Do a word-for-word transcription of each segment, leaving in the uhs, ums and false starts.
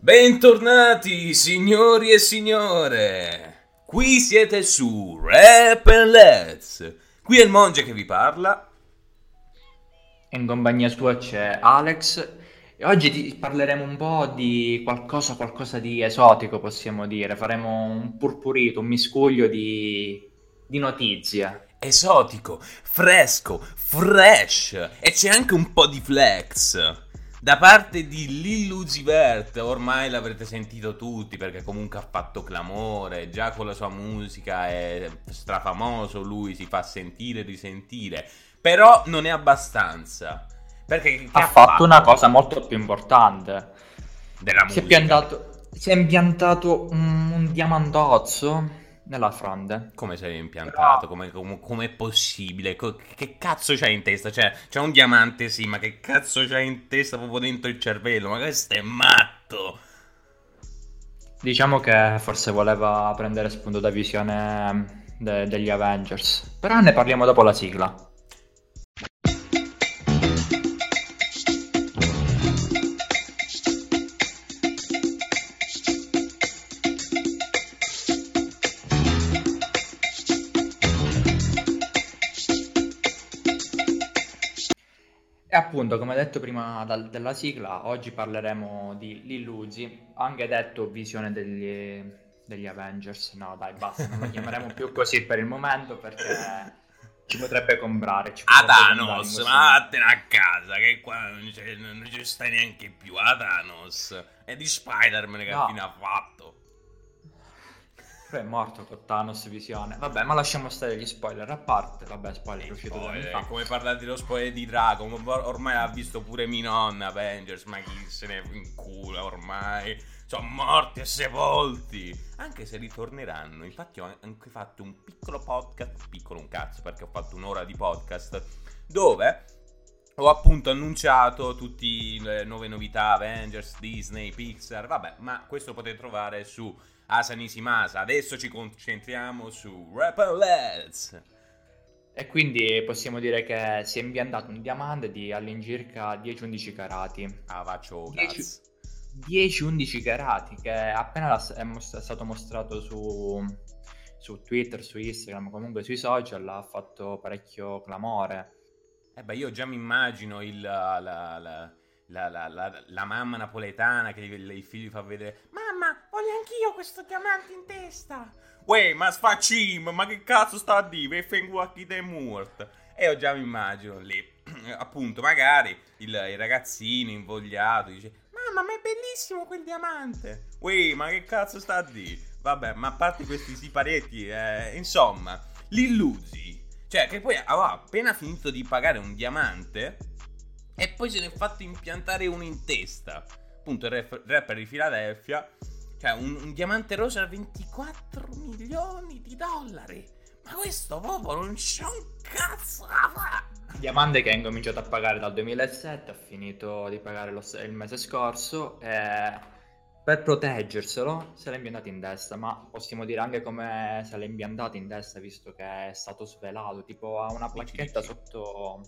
Bentornati signori e signore, qui siete su Rap and Let's, qui è il Monge che vi parla. In compagnia sua c'è Alex e oggi ti parleremo un po' di qualcosa, qualcosa di esotico possiamo dire, faremo un purpurito, un miscuglio di, di notizie. Esotico, fresco, fresh e c'è anche un po' di flex. Da parte di Lil Uzi Vert, ormai l'avrete sentito tutti perché comunque ha fatto clamore, già con la sua musica è strafamoso, lui si fa sentire e risentire, però non è abbastanza, perché Ha, ha fatto, fatto una cosa molto più importante, della musica. Si è, piantato, si è impiantato un, un diamantozzo nella fronte. Come sei impiantato? Come, come, come è possibile? Che cazzo c'hai in testa? Cioè, c'è un diamante sì, ma che cazzo c'hai in testa proprio dentro il cervello? Ma questo è matto! Diciamo che forse voleva prendere spunto da visione de- degli Avengers. Però ne parliamo dopo la sigla. E appunto, come detto prima dal- della sigla, oggi parleremo di Lil Uzi, anche detto visione degli, degli Avengers. No, dai, basta, non lo chiameremo più così per il momento perché ci potrebbe comprare. Ci A potrebbe Thanos, comprare ma vattene a casa, che qua non, c'è, non ci stai neanche più. A Thanos, è di Spider-Man che No. fine ha fatto. È morto con Thanos visione. Vabbè, ma lasciamo stare gli spoiler a parte. Vabbè, spoiler è uscito due anni fa. Come parlare dello spoiler di Dragon, ormai l'ha visto pure mia nonna Avengers, ma chi se ne incula ormai. Sono morti e sepolti. Anche se ritorneranno. Infatti ho anche fatto un piccolo podcast, piccolo un cazzo perché ho fatto un'ora di podcast, dove ho appunto annunciato tutte le nuove novità Avengers, Disney, Pixar. Vabbè, ma questo lo potete trovare su Asa Nishimasa. Adesso ci concentriamo su Rap and Let's. E quindi possiamo dire che si è impiantato un diamante di all'incirca dieci undici carati. Ah, faccio dieci undici carati che appena è, most- è stato mostrato su, su Twitter, su Instagram, comunque sui social, ha fatto parecchio clamore. Eh beh, io già mi immagino il, la, la, la, la, la, la, la mamma napoletana che il, il figlio fa vedere: mamma, voglio anch'io questo diamante in testa. Uè, ma sfaccim, ma che cazzo sta a dire? Vengo a chi te morto. E io già mi immagino lì, appunto, magari il, il ragazzino invogliato dice: mamma, ma è bellissimo quel diamante. Uè, ma che cazzo sta a dire? Vabbè, ma a parte questi siparetti, eh, insomma, Lil Uzi, cioè che poi aveva appena finito di pagare un diamante e poi se ne è fatto impiantare uno in testa. Appunto il rap- rapper di Philadelphia. Cioè un, un diamante rosa a ventiquattro milioni di dollari. Ma questo popolo non c'è un cazzo da fare. Diamante che ha incominciato a pagare dal duemilasette, ha finito di pagare lo, il mese scorso e per proteggerselo se l'è impiantato in testa, ma possiamo dire anche come se l'è impiantato in testa visto che è stato svelato, tipo ha una placchetta sotto,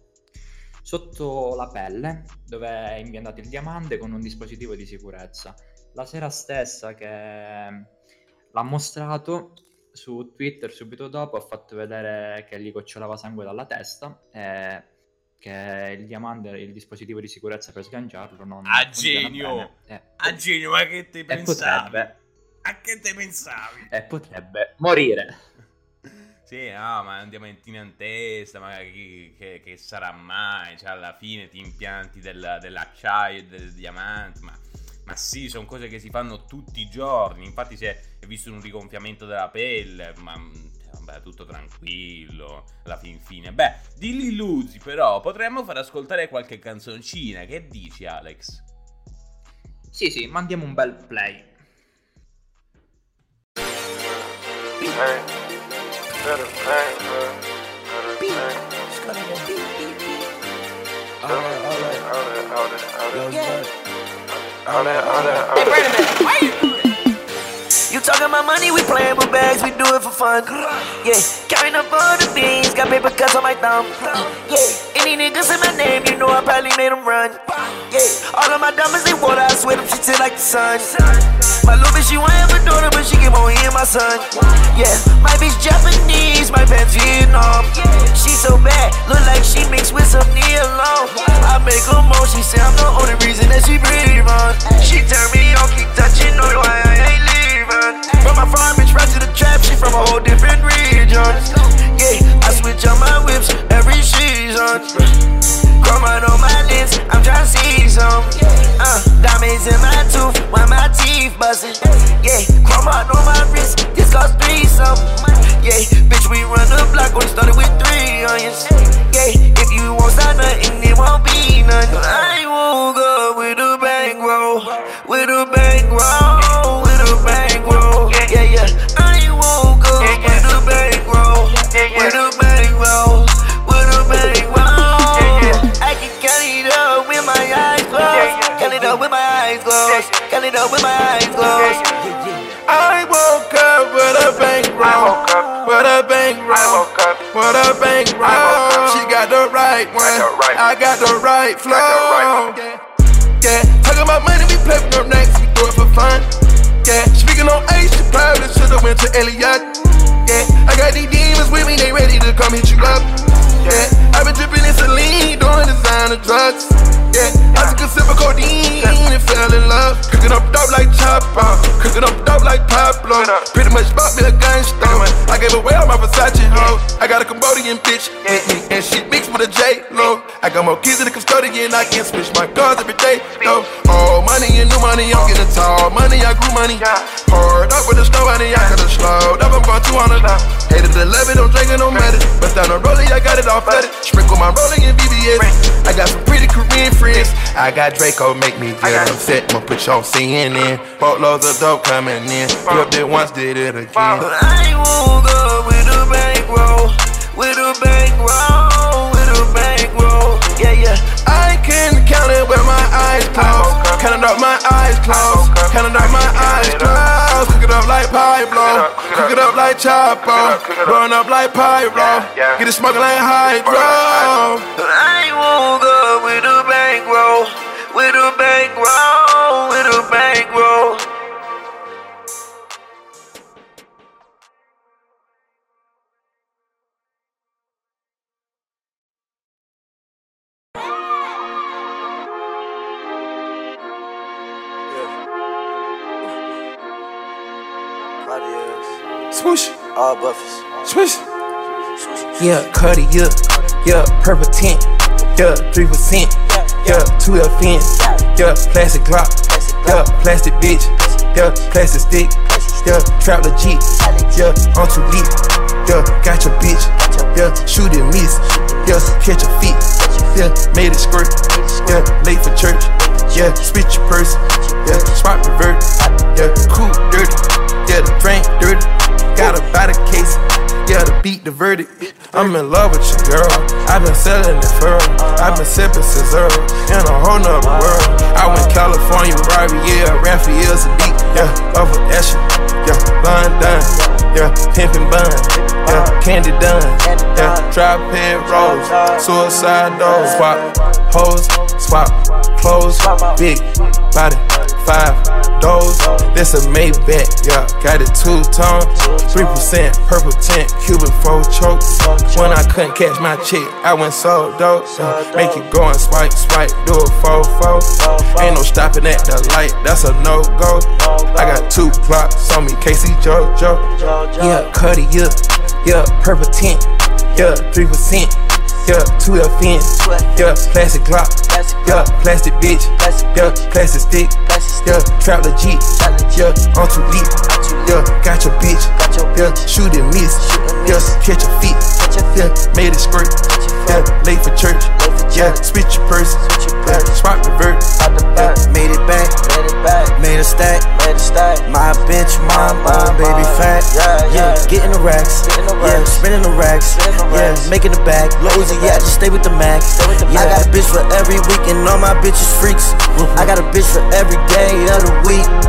sotto la pelle dove è impiantato il diamante con un dispositivo di sicurezza. La sera stessa che l'ha mostrato su Twitter, subito dopo ha fatto vedere che gli gocciolava sangue dalla testa e che il diamante, il dispositivo di sicurezza per sganciarlo non a genio eh, a genio, ma che te pensavi? Potrebbe, a che te pensavi? E potrebbe morire. Sì, no, ma un diamantino in testa, ma che, che, che sarà mai? Cioè alla fine ti impianti del, dell'acciaio e del diamante, ma Ma sì, sono cose che si fanno tutti i giorni. Infatti si è visto un rigonfiamento della pelle, ma vabbè, tutto tranquillo alla fin fine. Beh, di Lil Uzi però potremmo far ascoltare qualche canzoncina. Che dici, Alex? Sì, sì, mandiamo un bel play. All that, all that, all that. Hey, wait a minute. Why you do that? You talking about money, we playing with bags, we do it for fun. Yeah, carrying up all the beans, got paper cuts on my thumb. Yeah, any niggas in my name, you know I probably made them run. Yeah, all of my diamonds, they water, I swear them shit to just like the sun. My little bitch, she want have a daughter, but she get more in my son. Yeah, my bitch Japanese, my pants Vietnam. She so bad, look like she mixed with some Neilon. I make her moan, she say I'm the only reason that she breathe on. She turn me on, keep touching, know why I ain't leaving. From my farm bitch right to the trap, she from a whole different region. Yeah, I switch on my whips every season. Chrome out on my lens, I'm tryna see some. Uh, diamonds in my tooth, while my teeth bustin'. Yeah, chrome out on my wrist, this cost three something. Yeah, bitch, we run the block, only started with three onions. Yeah, if you won't start nothing, it won't be nothing. I won't go with a bankroll, with a bankroll, with a bankroll. Yeah, yeah, I won't go with a bankroll, with a bankroll, with a bankroll. I can count it up with my eyes closed, count it up with my eyes closed, count it up with my eyes closed. I woke up with a bankroll, with a bankroll, with a bankroll. She got the right one, I got the right flow. Yeah, talking about money, we play with no next, we do it for fun. Yeah, speaking on Ace, she probably should've went to Elliot. Yeah, I got these demons with me, they ready to come hit you up. Yeah, I been dripping in saline, doing designer drugs. Yeah, I took a sip of codeine and fell in love. Cooking up dope like Chopper, cooking up dope like Pablo. Pretty much bought me a gun store. I gave away all my Versace hoes. I got a Cambodian bitch with me, and she mixed with a J-Lo. I got more kids than a custodian, I can switch my cars every day. No, oh, money and new money, I'm getting tall. Money, I grew money. Poured up with the snow money, I could've slowed up, I'm going two hundred. eight to eleven, I'm drinking no matter. But down the rollie, I got it all flooded. Sprinkle my rolling in B B S. I got some pretty Korean friends. I got Draco, make me get upset. I'ma put you on C N N. Boatloads of dope coming in. You up there once, did it again. But I won't go with a bankroll, with a bankroll, with a bankroll. Yeah, yeah. I can count it with my eyes closed. Counting up my eyes closed. Counting up my eyes closed. Cook it up like Pablo. Cook it up like Chapo. Run up like Pyro. Get it smoking like Hydro. But I won't go with a bankroll, with a bankroll, with a bankroll. Swoosh. All buffers. Swoosh. Yeah, Cuddy, yeah, yeah, purple tint, yeah, three percent, yeah, two L fence, yeah, plastic Glock, yeah, plastic bitch, yeah, plastic stick, yeah, trap legit, yeah, on too deep, yeah, got your bitch, yeah, shoot and miss, yeah, catch a feet, yeah, made it squirt, yeah, late for church, yeah, spit your purse, yeah, spot revert, yeah, cool dirty, yeah, the drink dirty, got a body case, yeah, to beat the verdict. I'm in love with you, girl. I've been selling it for her. I've been sipping scissor in a whole nother world. I went California, Riviera, Raphael Sadiq, yeah, over Escher, yeah, London, yeah, pimpin' bun, yeah, candy done, yeah, tripod rolls, suicide doors, swap hoes, swap clothes, big body, five doors. This a Maybach, yeah, got it two tone, three percent purple tint, Cuban four chokes. When I couldn't catch my chick, I went so dope. Uh, make it go and swipe, swipe, do a four four. Ain't no stopping at the light, that's a no go. I got two clocks on me, K C JoJo. Yeah, Cuddy, yeah, yeah, purple tint, yeah, three percent. Yeah, two L fence, yeah, plastic Glock, yeah, plastic bitch, yeah, plastic stick, yeah, trap legit, yeah, on too deep, yeah, got your bitch, yeah, shoot and miss, yeah, catch your feet, yeah, made it squirt, yeah, late for church, yeah, spit your purse, yeah, spot revert, yeah, made it back, made a stack, my bitch, my mom, baby fat, yeah, getting the racks, yeah, spinning the racks, yeah, making the bag, loads of yeah, I just stay with the max. Yeah, I got a bitch for every week and all my bitches freaks. I got a bitch for every day of the week.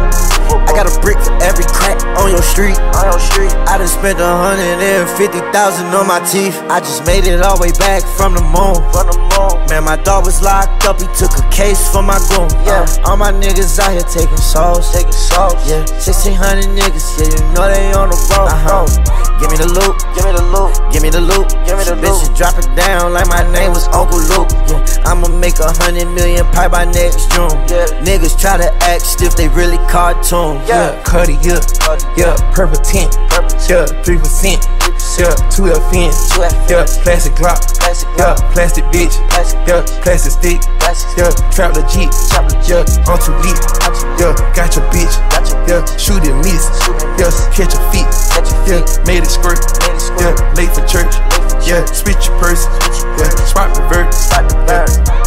I got a brick for every crack on your street. On your street. I done spent a hundred and fifty thousand on my teeth. I just made it all the way back from the moon. From the moon. Man, my dog was locked up. He took a case for my goon. Yeah. Uh, all my niggas out here taking souls. Taking souls. Yeah. Sixteen hundred niggas. Yeah, you know they on the road. Uh-huh. Give me the loot. Give me the loot. Give me the loot. Give me the loot. Bitch, drop it down like my name was Uncle Luke. Yeah. I'ma make a hundred million pie by next June. Yeah. Niggas try to act stiff, they really cartoon. Yeah, Cuddy, yeah, yeah, purple tint, yeah, three percent, yeah, two F N, yeah, plastic Glock, yeah, plastic bitch, yeah, plastic stick, yeah, trap the Jeep, yeah, on too deep, yeah, got your bitch, yeah, shoot and miss, yeah, catch your feet, yeah, made it squirt, yeah, late for church, yeah, switch your purse, yeah, spot revert, yeah.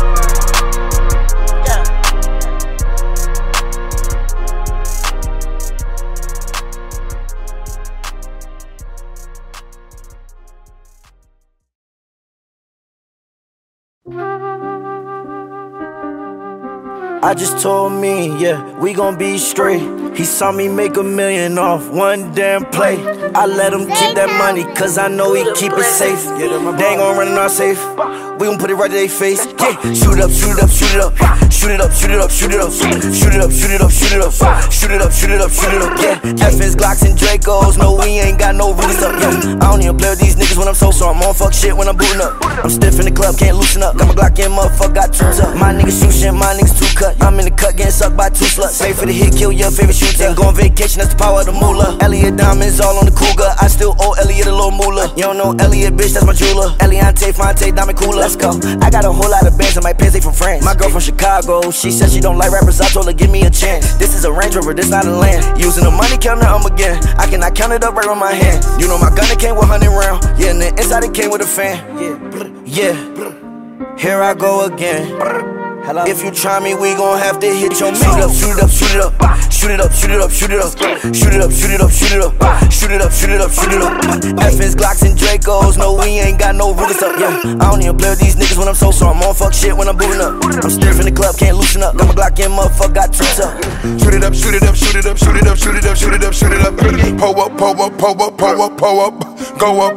I just told me, yeah, we gon' be straight. He saw me make a million off one damn play. I let him keep that money, cause I know he keep it safe. They ain't gon' run in our safe. We gon' put it right to their face. Yeah, shoot it up, shoot it up, shoot it up. Shoot it up, shoot it up, shoot it up. Shoot it up, shoot it up, shoot it up. Shoot it up, shoot it up, shoot it up. Yeah, F S, Glocks, and Dracos. No, we ain't got no rules up. Yeah, I don't even play with these niggas when I'm so so. I'm on fuck shit when I'm booting up. I'm stiff in the club, can't loosen up. Got my Glock in, motherfucker, got two up. My niggas shoot shit, my niggas two cut. I'm in the cut, getting sucked by two sluts. Pay for the hit, kill your favorite shooter. And go on vacation, that's the power of the moolah. Elliot diamonds all on the cougar. I still owe Elliot a little moolah. You don't know Elliot, bitch, that's my jeweler. Eliante, Fonte, diamond cooler. Let's go. I got a whole lot of bands on my pants, they from France. My girl from Chicago, she said she don't like rappers. I told her, give me a chance. This is a Range Rover, this not a land. Using the money counter, I'm again. I cannot count it up right on my hand. You know my gun, it came with one hundred round. Yeah, and the inside it came with a fan. Yeah, yeah. Here I go again. Hello. If you try me, we gon' have to hit your shoot up, shoot it up, shoot it up, shoot it up, shoot it up, shoot it up, shoot it up, shoot it up, shoot it up, shoot it up, shoot it up, shoot it up. F S, Glocks, and Dracos. No, we ain't got no rules up. Yeah, I don't even play with these niggas when I'm so so. I'm on fuck shit when I'm booting up. I'm stiff in the club, can't loosen up. Got my Glock in, motherfucker, got two up. Shoot it up, shoot it up, shoot it up, shoot it up, shoot it up, shoot it up, shoot it up. Pull up, pull up, pull up, pull up, pull up, go up.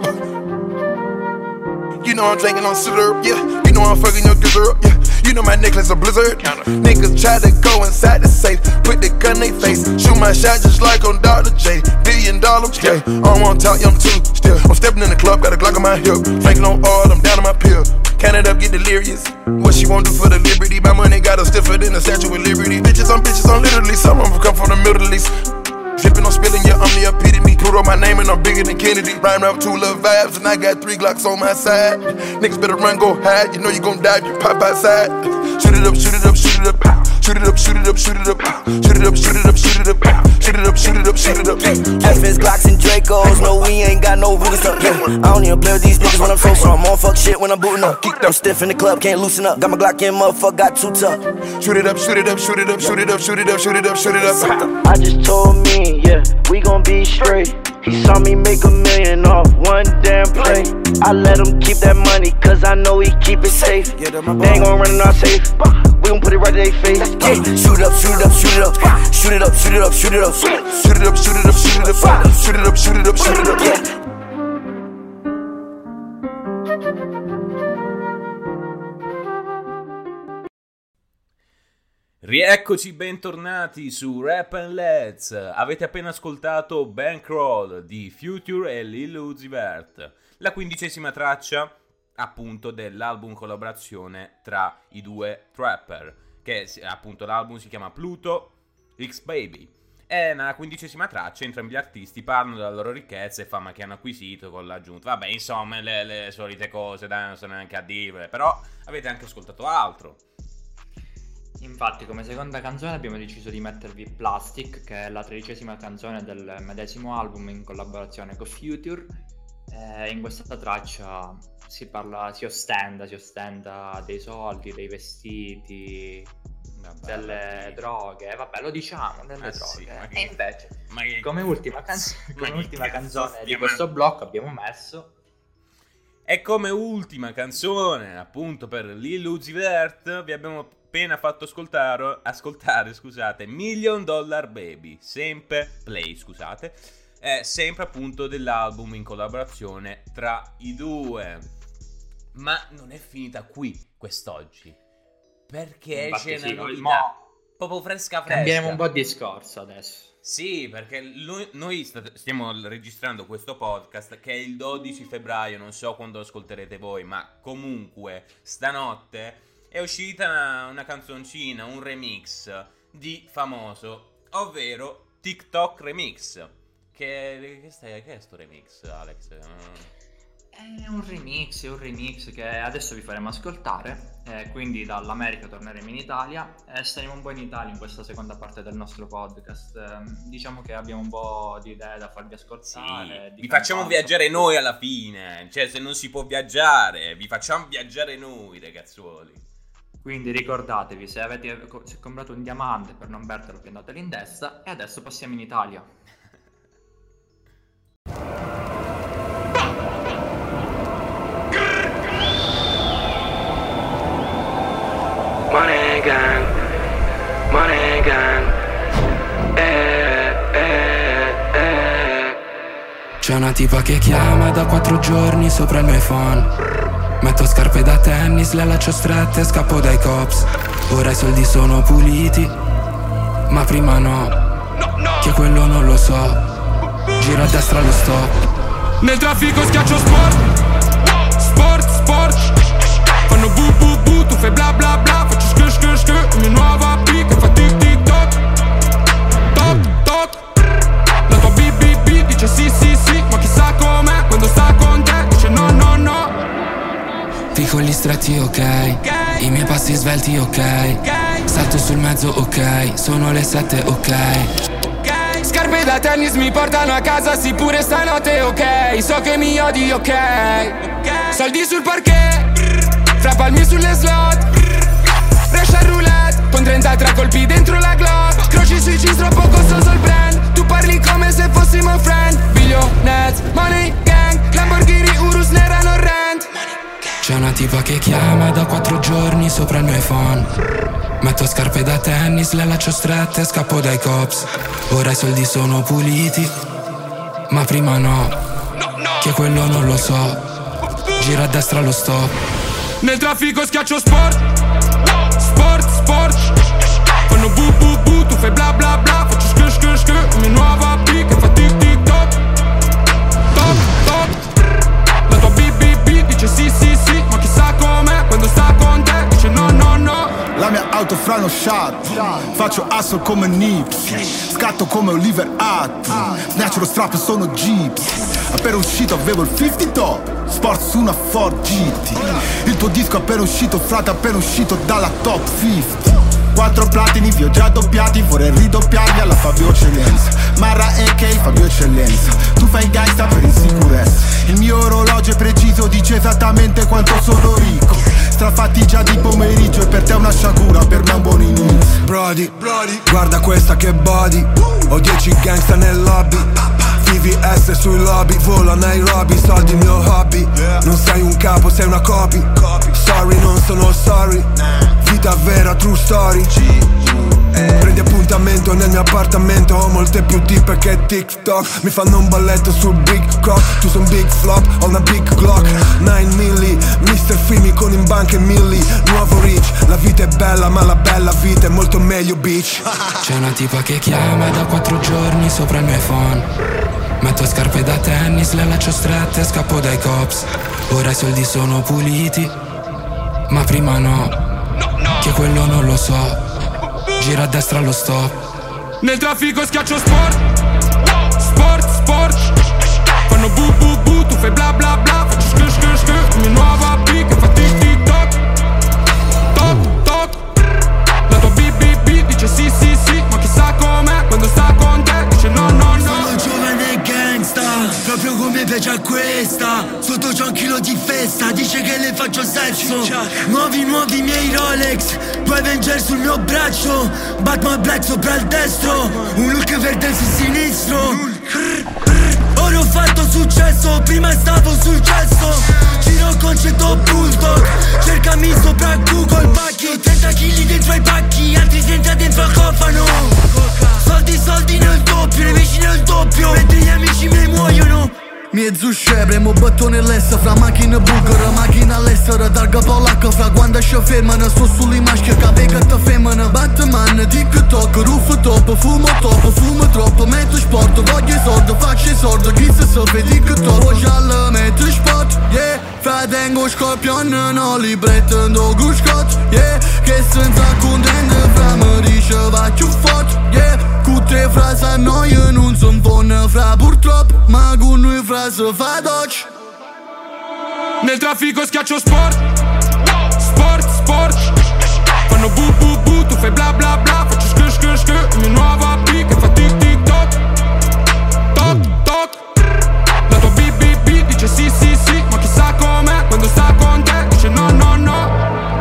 You know I'm drinking on syrup, yeah. You know I'm fucking your gizzard, yeah. You know my necklace a blizzard. Niggas try to go inside the safe, put the gun in they face, shoot my shot just like on Doctor J. Billion dollar, yeah. I don't wanna talk, I'm too still. I'm stepping in the club, got a Glock on my hip. Drinking on oil, I'm down on my pill. Count it up, get delirious. What she won't do for the liberty? My money got her stiffer than a statue of liberty. Bitches on bitches on literally, some of them come from the Middle East. Drippin' on spilling, yeah, I'm the epitome. Put on my name and I'm bigger than Kennedy. Rhyme up two little vibes and I got three Glocks on my side. Niggas better run, go hide. You know you gon' die if you pop outside. Shoot it up, shoot it up, shoot it up. Shoot it up, shoot it up, shoot it up. Shoot it up, shoot it up, shoot it up. Shoot it up, shoot it up, shoot it up. F S, Glocks, and Dracos. No, we ain't got no rules up. Yeah, I don't even play with these niggas when I'm so so. I'm on fuck shit when I'm booting up. I'm stiff in the club, can't loosen up. Got my Glock in, motherfucker, got two tough. Shoot it up, shoot it up, shoot it up, shoot it up, shoot it up, shoot it up, shoot it up. I just told me, yeah, we gon' be straight. He saw me make a million off one damn play. I let him keep that money, cause I know he keep it safe. They ain't gon' run in our safe. We gon' put it right to their face. Yeah, shoot it up, shoot it up, shoot it up. Shoot it up, shoot it up, shoot it up. Shoot it up, shoot it up, shoot it up. Shoot it up, shoot it up, shoot it up. Yeah. Rieccoci, bentornati su Rap and Let's. Avete appena ascoltato Bankroll di Future e Lil Uzi Vert, la quindicesima traccia appunto dell'album collaborazione tra i due trapper, che appunto l'album si chiama Pluto X Baby. E nella quindicesima traccia entrambi gli artisti parlano della loro ricchezza e fama che hanno acquisito con l'aggiunta. Vabbè, insomma, le, le solite cose, dai, non sono neanche a dire, però avete anche ascoltato altro. Infatti, come seconda canzone abbiamo deciso di mettervi Plastic, che è la tredicesima canzone del medesimo album in collaborazione con Future. Eh, in questa traccia si parla, si ostenta, si ostenta dei soldi, dei vestiti, vabbè, delle vabbè. droghe. Vabbè, lo diciamo, delle ah, droghe. Sì, che... E invece, ma che... come ultima, canzo... come ultima canzone stiamo... di questo blocco abbiamo messo... E come ultima canzone, appunto, per Lil Uzi Vert vi abbiamo appena fatto ascoltare, ascoltare scusate, Million Dollar Baby, sempre play, scusate, è sempre appunto dell'album in collaborazione tra i due. Ma non è finita qui quest'oggi, perché Infatti c'è sì, una novità mo- proprio fresca fresca. Cambiamo un po' di discorso adesso. Sì, perché lui- noi st- stiamo registrando questo podcast che è il dodici febbraio, non so quando lo ascolterete voi, ma comunque stanotte è uscita una, una canzoncina, un remix di Famoso, ovvero TikTok Remix. Che, che, stai, che è sto remix, Alex? È un remix, è un remix che adesso vi faremo ascoltare, eh, quindi dall'America torneremo in Italia e saremo un po' in Italia in questa seconda parte del nostro podcast. Eh, diciamo che abbiamo un po' di idee da farvi ascoltare. Sì, vi facciamo viaggiare noi alla fine, cioè se non si può viaggiare, vi facciamo viaggiare noi, ragazzuoli. Quindi ricordatevi, se avete se comprato un diamante per non perderlo, piantatelo in testa. E adesso passiamo in Italia. Money gang, money gang, eh, eh, eh. C'è una tipa che chiama da quattro giorni sopra il mio iPhone. Metto scarpe da tennis, le laccio strette e scappo dai cops. Ora i soldi sono puliti, ma prima no, che quello non lo so. Giro a destra allo stop. Nel traffico schiaccio sport, sport, sport. Fanno bu bu bu, tu fai bla bla bla. Faccio sk sk sk, mia nuova B che fa tic tic toc. Toc toc. La tua B B B dice sì sì sì, ma chissà com'è quando sta con te, dice no no no. Piccoli stretti ok, i miei passi svelti ok. Salto sul mezzo ok, sono le sette ok. Scarpe da tennis mi portano a casa, sì pure stanotte ok. So che mi odi ok. Soldi sul parquet, fra palmi sulle slot. Russian roulette, con trentatré colpi dentro la Glock. Croci sui jeans troppo costoso il brand. Tu parli come se fossimo friend. Billionaires, money gang, Lamborghini, Urus, nera, non rent. C'è una tipa che chiama da quattro giorni sopra il mio iPhone. Metto scarpe da tennis, le laccio strette e scappo dai cops. Ora i soldi sono puliti, ma prima no, che quello non lo so. Giro a destra allo stop. Nel traffico schiaccio sport, sport, sport. Fanno bu bu bu, tu fai bla bla bla. Faccio sk sk sk, mia nuova B che fa tic tic toc. Toc toc. La tua B B B dice sì sì sì, ma chissà com'è quando sta con te, dice no no no. La mia auto fra uno shot, faccio hustle come Nips, scatto come Oliver Atom, snatcho lo strap e sono Jeeps. Appena uscito avevo il cinquanta top, sport su una Ford G T. Il tuo disco appena uscito, frate, appena uscito dalla top cinquanta. Quattro platini, vi ho già doppiati, vorrei ridoppiarli alla Fabio Eccellenza. Marra A K, Fabio Eccellenza. Tu fai gangsta per insicurezza. Il mio orologio è preciso, dice esattamente quanto sono ricco. Strafatti già di pomeriggio e per te una sciagura, per me è un buon inizio. Brody, Brody, guarda questa che body. Ho dieci gangsta nel lobby. V V S sui lobby, volo a Nairobi, soldi il mio hobby. Non sei un capo, sei una copy. Sorry, non sono sorry. Vita vera, true story. Prendi appuntamento nel mio appartamento. Ho molte più tipe che TikTok. Mi fanno un balletto sul big cock. Tu son big flop, ho una big Glock nove milli, mister Fimi con in banca e milli. Nuovo rich, la vita è bella ma la bella vita è molto meglio bitch. C'è una tipa che chiama da quattro giorni sopra il mio iPhone. Metto scarpe da tennis, le laccio strette e scappo dai cops. Ora i soldi sono puliti, ma prima no, che quello non lo so. Gira a destra allo stop. Nel traffico schiaccio sport, sport, sport. Fanno bu bu bu, tu fai bla bla bla. Faccio sk sk sk, mia nuova B che fa tic tic toc. Toc toc. La tua B B B dice sì sì sì, ma chissà com'è quando sta con te, dice no no no. Sono giovane gangsta, proprio come piace a questa. Sotto c'ho un chilo di festa, dice che le faccio sesso. Nuovi nuovi miei Rolex, poi Avenger sul mio braccio. Batman Black sopra il destro, un look verde sul sinistro. Ora ho fatto successo, prima stavo sul cesso. Ci Giro concetto bulldog, cercami sopra Google Pacchi, trenta chili dentro ai pacchi, altri senza dentro al cofano. Soldi, soldi nel doppio, le vicine nel doppio, mentre gli amici miei muoiono. Mezzo scebre, mo bottone l'essa fra macchina bulgara, macchina all'estera, targa polacca, fra quando si fermano, sto sulle maschere, che che te femmina. Batman, TikTok, rooftop, fumo top, fumo troppo, metto sport, voglio i soldi, faccio i soldi, chi se sa fe TikTok, voglio alla metto spot, yeah. Fra tengo scorpion, no li pretendo guscot, yeah. Che senza contento, fra mi dice va più forte, yeah. Tutte frasi a noi non son buone, fra purtroppo, ma con noi fra se fa doccia. Nel traffico schiaccio sport, sport, sport. Fanno bu bu bu, tu fai bla bla bla, faccio sk sk sk. Il mio nuovo A P che fa tic tic toc, toc toc. La tua B B B dice sì sì sì, ma chissà com'è quando sta con te, dice no no no.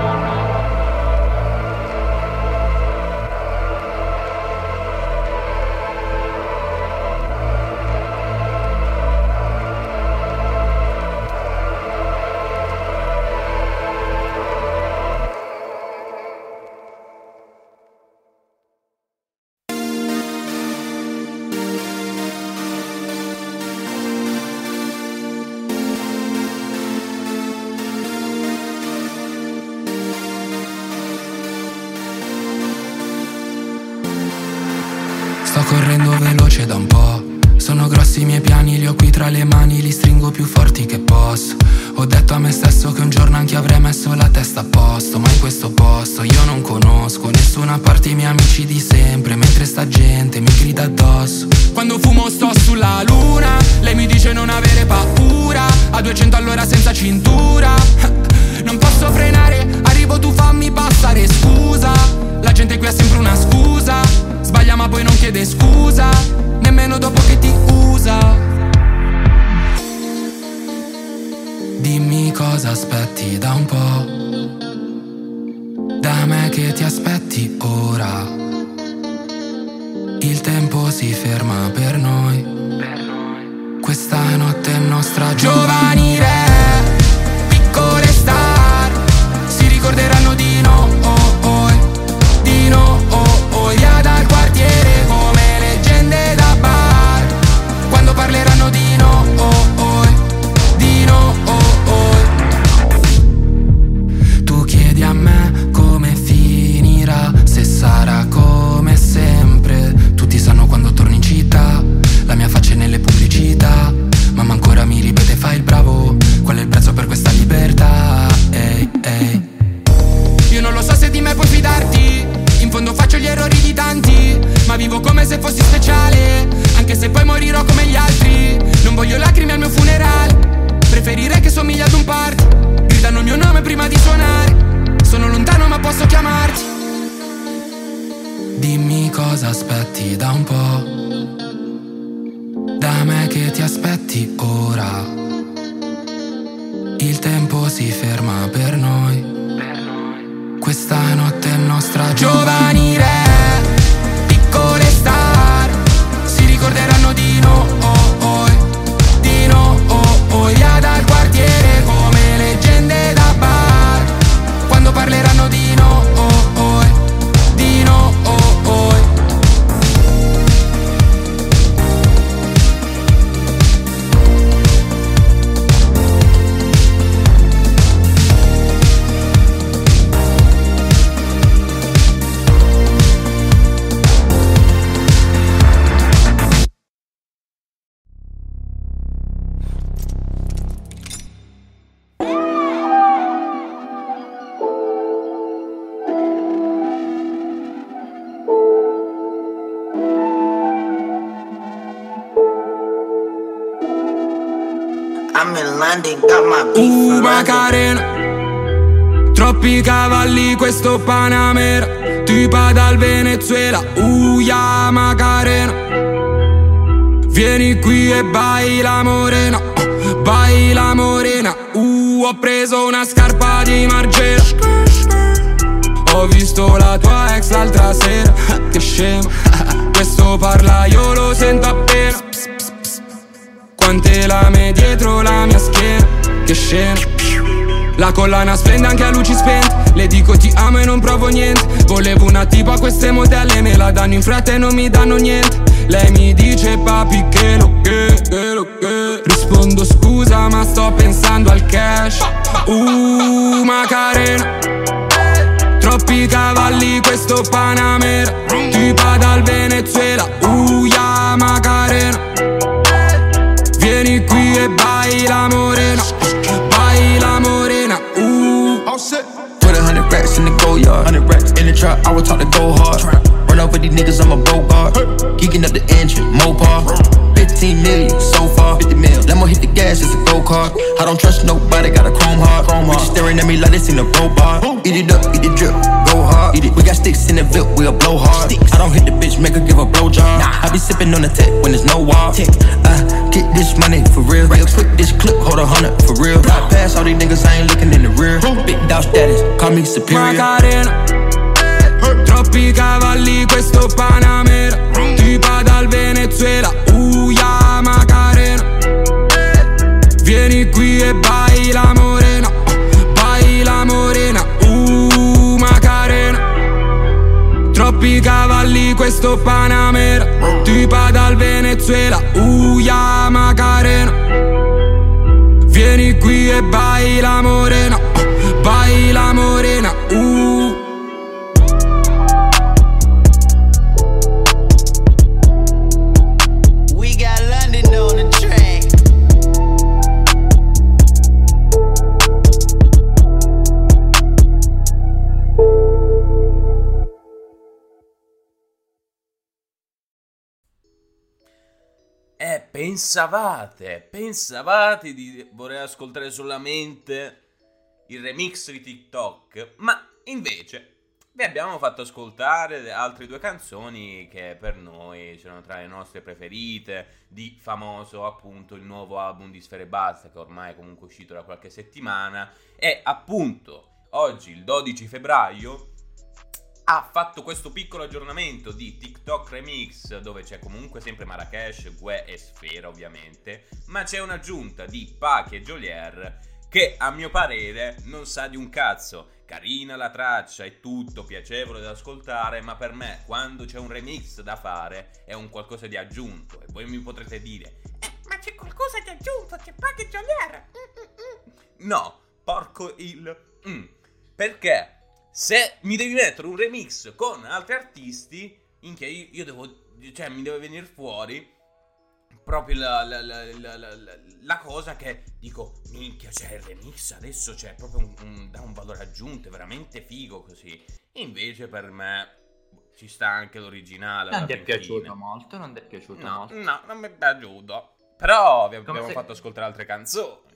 Sto correndo veloce da un po'. Sono grossi i miei piani, li ho qui tra le mani, li stringo più forti che posso. Ho detto a me stesso che un giorno anche avrei messo la testa a posto, ma in questo posto io non conosco nessuna parte i miei amici di sempre, mentre sta gente mi grida addosso. Quando fumo sto sulla luna, lei mi dice non avere paura, a duecento all'ora senza cintura. Non posso frenare, arrivo tu fammi passare scusa. La gente qui ha sempre una scusa, sbaglia ma poi non chiede scusa, nemmeno dopo che ti usa. Dimmi cosa aspetti da un po', da me che ti aspetti ora. Il tempo si ferma per noi, questa notte è nostra. Giovani re, piccole star, si ricorderanno di noi, di noi, via dal quartiere come leggende da bar. Quando parleranno di noi, di noi. Tu chiedi a me come finirà, se sarà come sempre. Tutti sanno quando torni in città, la mia faccia è nelle pubblicità. Mamma ancora mi ripete fai il bravo, qual è il prezzo per questa libertà? Ehi, ehi. Io non lo so se di me puoi fidarti, in fondo faccio gli errori di tanti, ma vivo come se fossi speciale, anche se poi morirò come gli altri. Non voglio lacrime al mio funerale, preferirei che somigli ad un party. Gridano il mio nome prima di suonare, sono lontano ma posso chiamarti. Dimmi cosa aspetti da un po', da me che ti aspetti ora. Il tempo si ferma per noi, questa notte è nostra. Giovani re, piccole star, si ricorderanno di noi, di noi, via dal quartiere come leggende da bar. Quando parleranno di noi, di noi. I'm in London, got my beef Uh, Macarena, troppi cavalli questo Panamera, tipa dal Venezuela, uh, yeah, Macarena. Vieni qui e baila morena, uh, baila morena, uh, ho preso una scarpa di Margiela. Ho visto la tua ex l'altra sera, che scema, questo parla io lo sento appena. Quante lame dietro la mia schiena, che scena. La collana splende anche a luci spente. Le dico ti amo e non provo niente. Volevo una tipa, queste modelle me la danno in fretta e non mi danno niente. Lei mi dice papi che lo che, che lo che. Rispondo scusa ma sto pensando al cash. Uh, Macarena. Troppi cavalli questo Panamera. Tipa dal Venezuela. Uh, yeah, Macarena. Vieni qui e baila morena. Baila morena. Uh. All set. Put a hundred racks in the go yard. Hundred racks in the trap. I would talk to go hard. Run over these niggas, I'm a bogart. Geeking up the engine, Mopar. Fifteen million so far. Fifty mil. Lemo hit the gas, it's a go kart. I don't trust nobody, got a chrome heart. Chrome heart. Bitches staring at me like they seen a robot. Eat it up, eat it drip, go hard. Eat it. We got sticks in the VIP, we'll blow hard. Sticks. I don't hit the bitch, make her give a blow job. Nah. I be sipping on the tech when there's no wall. Tech. Uh, get this money for real. Real quick, this clip, hold a hundred for real. Right past all these niggas, I ain't looking in the rear. Big dog status, call me superior. Macarena. Troppi cavalli questo Panamera. Tipa dal Venezuela. Uh, yeah, Macarena. Vieni qui e baila morena. Baila morena. Uh, Macarena. Troppi cavalli questo Panamera. Tipa dal Venezuela. Uh, yeah, Macarena. Vieni qui e baila morena. Baila morena. Uh. Eh, pensavate, pensavate di voler ascoltare solamente il remix di TikTok, ma invece vi abbiamo fatto ascoltare altre due canzoni che per noi sono tra le nostre preferite, di Famoso, appunto il nuovo album di Sfera Ebbasta, che ormai è comunque uscito da qualche settimana, e appunto oggi, il dodici febbraio, ha fatto questo piccolo aggiornamento di TikTok Remix, dove c'è comunque sempre Marracash, Gue e Sfera ovviamente, ma c'è un'aggiunta di Pachi e Geolier che a mio parere non sa di un cazzo. Carina la traccia, è tutto piacevole da ascoltare, ma per me quando c'è un remix da fare è un qualcosa di aggiunto. E voi mi potrete dire eh, ma c'è qualcosa di aggiunto, c'è Pachi e Geolier. Mm-mm-mm. No, porco il mm. Perché se mi devi mettere un remix con altri artisti, minchia, io, io devo, cioè mi deve venire fuori proprio la, la, la, la, la, la cosa che dico, minchia, c'è il remix, adesso c'è proprio un, un, da un valore aggiunto, è veramente figo così. Invece per me ci sta anche l'originale. Non ti è piaciuto molto, non ti è piaciuto no, molto. No, non mi è piaciuto. Però vi abbiamo se... fatto ascoltare altre canzoni.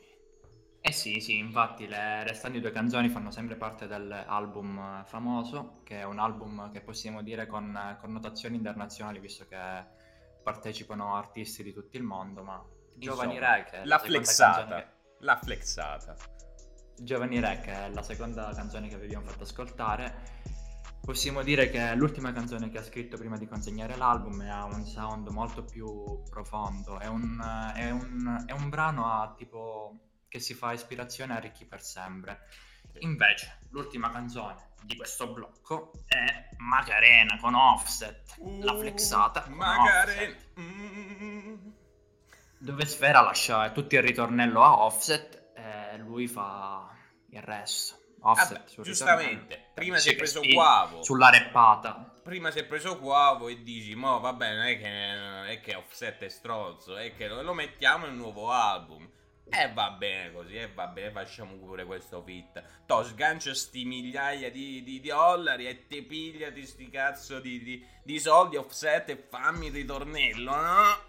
Eh sì, sì, infatti le restanti due canzoni fanno sempre parte dell'album Famoso, che è un album che possiamo dire con connotazioni internazionali, visto che partecipano artisti di tutto il mondo, ma Giovanni Insomma, Re, che è la, la flexata, che... la flexata. Giovanni Re, che è la seconda canzone che vi abbiamo fatto ascoltare, possiamo dire che è l'ultima canzone che ha scritto prima di consegnare l'album e ha un sound molto più profondo, è un, è un, è un brano a tipo... che si fa ispirazione a Ricchi per sempre. Invece l'ultima canzone di questo blocco è Macarena con Offset, uh, la flexata con Macarena, mm. dove Sfera lascia tutto il ritornello a Offset e lui fa il resto. Offset, vabbè, giustamente, prima si è preso Quavo sulla reppata. Prima si è preso Quavo e dici, mo vabbè, non è che, è che Offset è stronzo, è che lo mettiamo nel nuovo album. E eh, va bene così, e eh, va bene, facciamo pure questo fit. To sgancia sti migliaia di, di, di dollari e ti pigliati sti cazzo di, di, di soldi Offset e fammi il ritornello, no?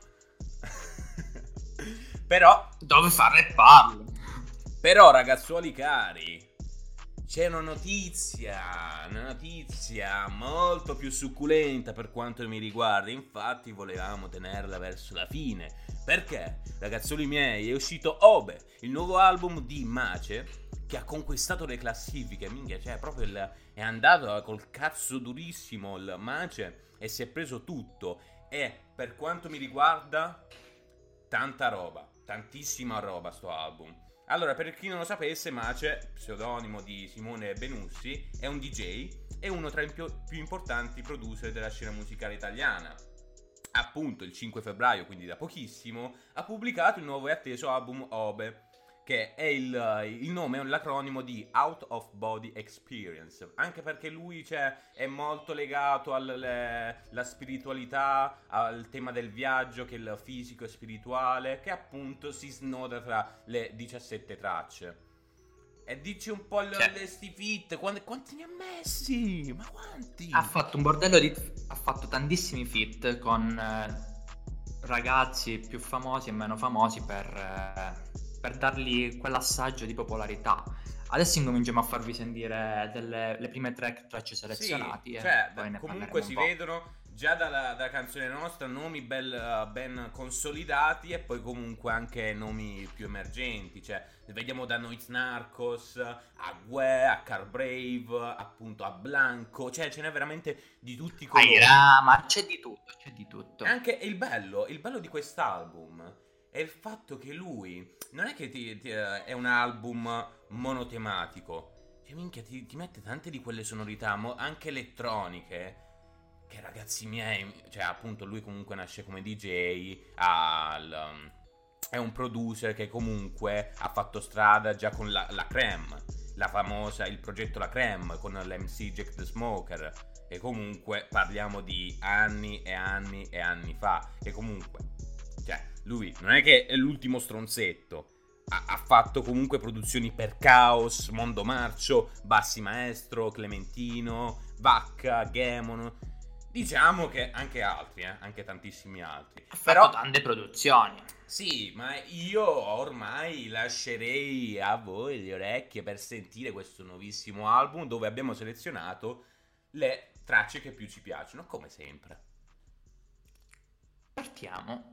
Però dove fa rapparlo? Però ragazzuoli cari, c'è una notizia, una notizia molto più succulenta per quanto mi riguarda. Infatti volevamo tenerla verso la fine. Perché, ragazzoli miei, è uscito Obe, il nuovo album di Mace, che ha conquistato le classifiche. Minchia, cioè proprio il, è andato col cazzo durissimo il Mace e si è preso tutto. E per quanto mi riguarda, tanta roba, tantissima roba sto album. Allora, per chi non lo sapesse, Mace, pseudonimo di Simone Benussi, è un D J e uno tra i più, più importanti producer della scena musicale italiana. Appunto, il cinque febbraio, quindi da pochissimo, ha pubblicato il nuovo e atteso album Obe, che è il, il nome, è l'acronimo di Out of Body Experience, anche perché lui, cioè, è molto legato alla spiritualità, al tema del viaggio, che è il fisico e spirituale, che appunto si snoda tra le diciassette tracce. E dici un po' Cioè, le sti fit, quanti, quanti ne ha messi? Ma quanti? ha fatto un bordello di... ha fatto tantissimi feat con eh, ragazzi più famosi e meno famosi per... Eh, per dargli quell'assaggio di popolarità. Adesso incominciamo a farvi sentire delle, le prime tre tracce selezionate. Sì, e cioè, poi ne comunque si vedono già dalla, dalla canzone nostra nomi bel, ben consolidati e poi comunque anche nomi più emergenti. Cioè, vediamo da Noiz Narcos a Gue, a Car Brave, appunto a Blanco. Cioè, ce n'è veramente di tutti i colori. Ah, ma c'è di tutto, c'è di tutto. E anche il bello, il bello di quest'album è il fatto che lui non è che ti, ti, è un album monotematico, cioè minchia ti, ti mette tante di quelle sonorità mo, anche elettroniche, che ragazzi miei, cioè appunto lui comunque nasce come D J, al, è un producer che comunque ha fatto strada già con la, la Creme, la famosa, il progetto La Creme con l'M C Jack the Smoker, e comunque parliamo di anni e anni e anni fa, e comunque cioè, lui non è che è l'ultimo stronzetto, ha, ha fatto comunque produzioni per Chaos, Mondo Marcio, Bassi Maestro, Clementino, Vacca, Gemon. Diciamo che anche altri, eh, anche tantissimi altri. Ha Però fatto tante produzioni. Sì, ma io ormai lascerei a voi le orecchie per sentire questo nuovissimo album, dove abbiamo selezionato le tracce che più ci piacciono, come sempre. Partiamo.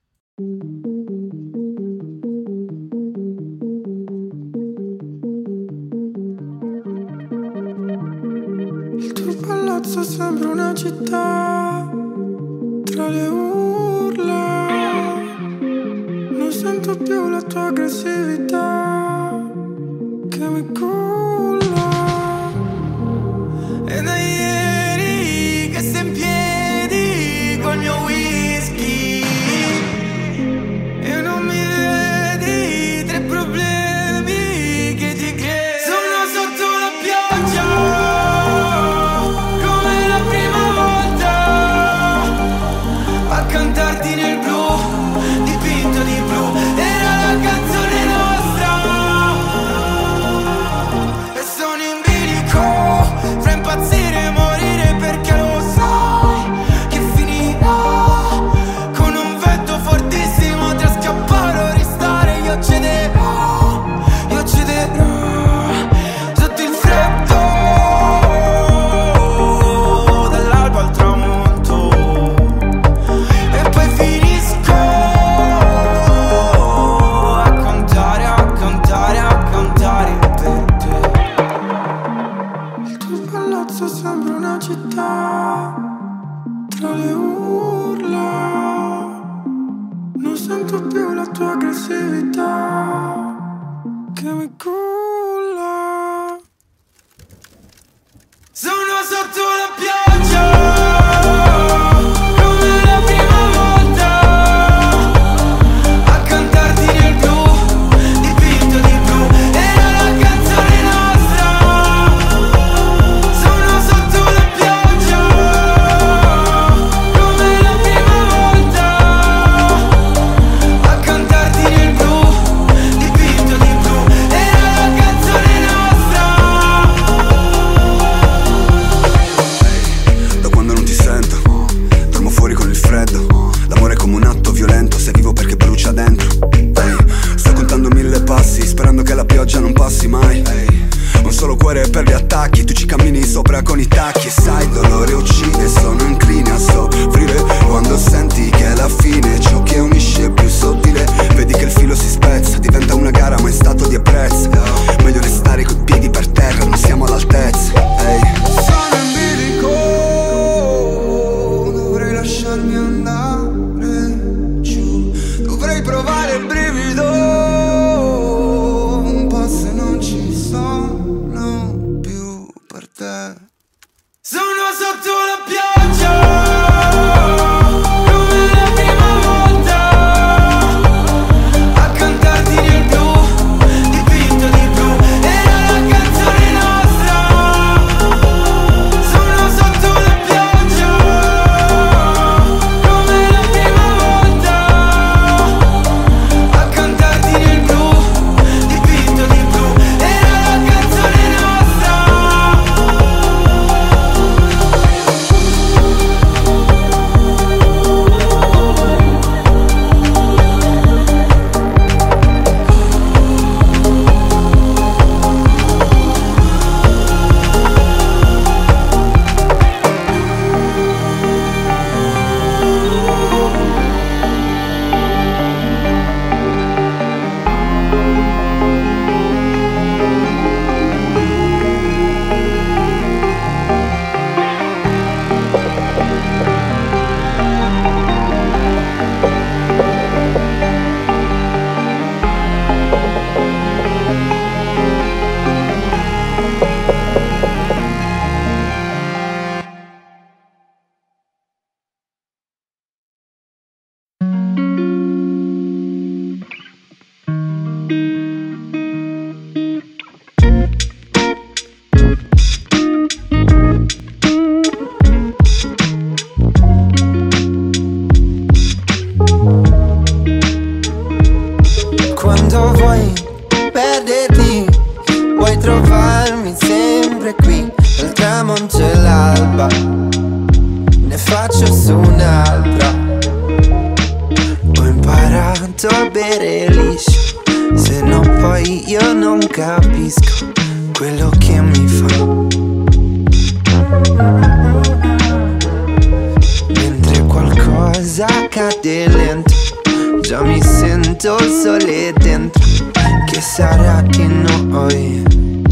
Il tuo palazzo sembra una città tra le urla, non sento più la tua aggressività che mi culla. E da ieri che sei in piedi col mio whisky e non mi vedi, tre problemi che ti crei. Sono sotto la pioggia come la prima volta, a cantarti nel blu, dipinto di blu, era la canzone nostra. E sono in bilico fra impazzire e morire, perché lo sai che finirà con un vento fortissimo tra scappare o restare. Io cederò, io cederò sotto il freddo dall'alba al tramonto, e poi finisco a contare, a contare, a contare per te. Il tuo palazzo sembra una città tra le urla, non sento più la tua aggressività che mi culla. Sono sotto la pioggia come la prima volta, a cantarti nel blu, dipinto di blu, era la canzone nostra. Sono sotto la pioggia come la prima volta, a cantarti nel blu, dipinto di blu, era la canzone nostra. Da quando non ti sento, dormo fuori con il freddo. L'amore è come un atto violento, se vivo perché brucia dentro. Ehi, sto contando mille passi, sperando che la pioggia non passi mai. Ehi, un solo cuore per gli attacchi, tu ci cammini sopra con i tacchi. E sai, il dolore uccide, sono incline a soffrire quando senti che è la fine. Ciò che unisce è più sottile, vedi che il filo si spezza, diventa una gara ma in stato di ebbrezza. Meglio restare coi piedi per terra, non siamo all'altezza. Ehi, Sono in bilico, dovrei lasciarmi andare giù, dovrei provare il brivido un'altra. Ho imparato a bere liscio, se no poi io non capisco quello che mi fa. Mentre qualcosa cade lento, già mi sento il sole dentro. Che sarà di noi?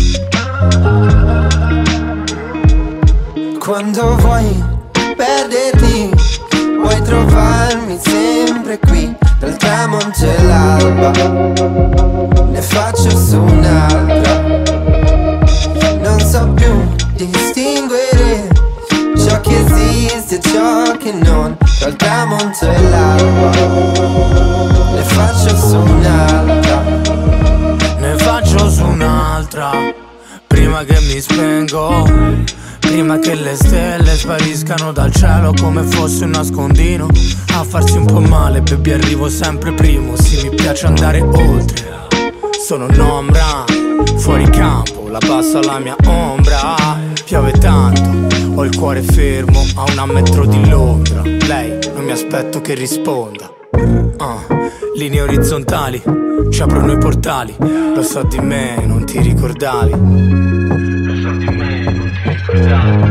Quando vuoi perderti, vuoi trovarmi sempre qui, dal tramonto e l'alba. Ne faccio su un'altra. Non so più distinguere ciò che esiste e ciò che non, dal tramonto e l'alba. Ne faccio su un'altra. Ne faccio su un'altra. Prima che mi spengo, prima che le stelle spariscano dal cielo come fosse un nascondino. A farsi un po' male, baby, arrivo sempre primo. Sì, mi piace andare oltre. Sono un'ombra, fuori campo, la passo alla mia ombra. Piove tanto, ho il cuore fermo a una metro di Londra. Lei, non mi aspetto che risponda. uh, Linee orizzontali, ci aprono i portali. Lo so di me, non ti ricordavi. Lo so di me, non ti ricordavi.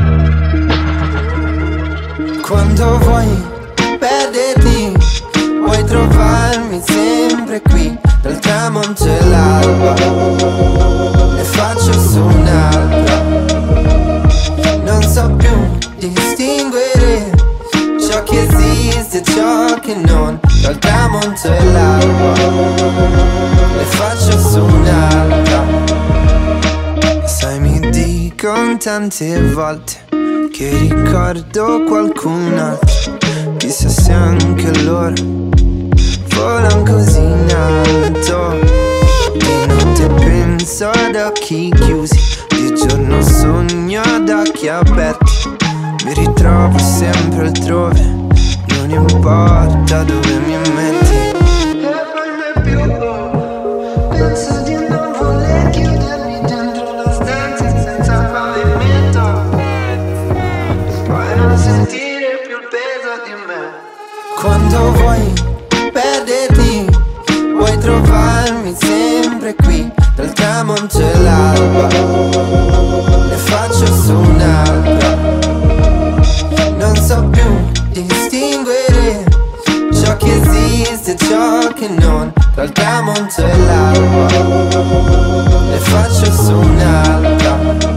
Quando vuoi perderti, vuoi trovarmi sempre qui, dal tramonto e l'alba. Ne faccio su un'altra. Non so più distinguere ciò che esiste e ciò che non, dal tramonto e l'alba. Ne faccio su un'altra. Sai, mi dicono tante volte che ricordo qualcun altro. Chissà se anche loro volano così in alto. Di notte penso ad occhi chiusi, di giorno sogno ad occhi aperti. Mi ritrovo sempre altrove, non importa dove mi metti. E poi mai più penso di non voler chiudermi dentro la stanza senza pavimento, poi non sentire più il peso di me. Quando vuoi perderti, vuoi trovarmi sempre qui, dal tramonto e l'alba. Ne faccio su un'altra. Non so più distinguere ciò che esiste e ciò che non, dal tramonto e l'alba. Ne faccio su un'altra.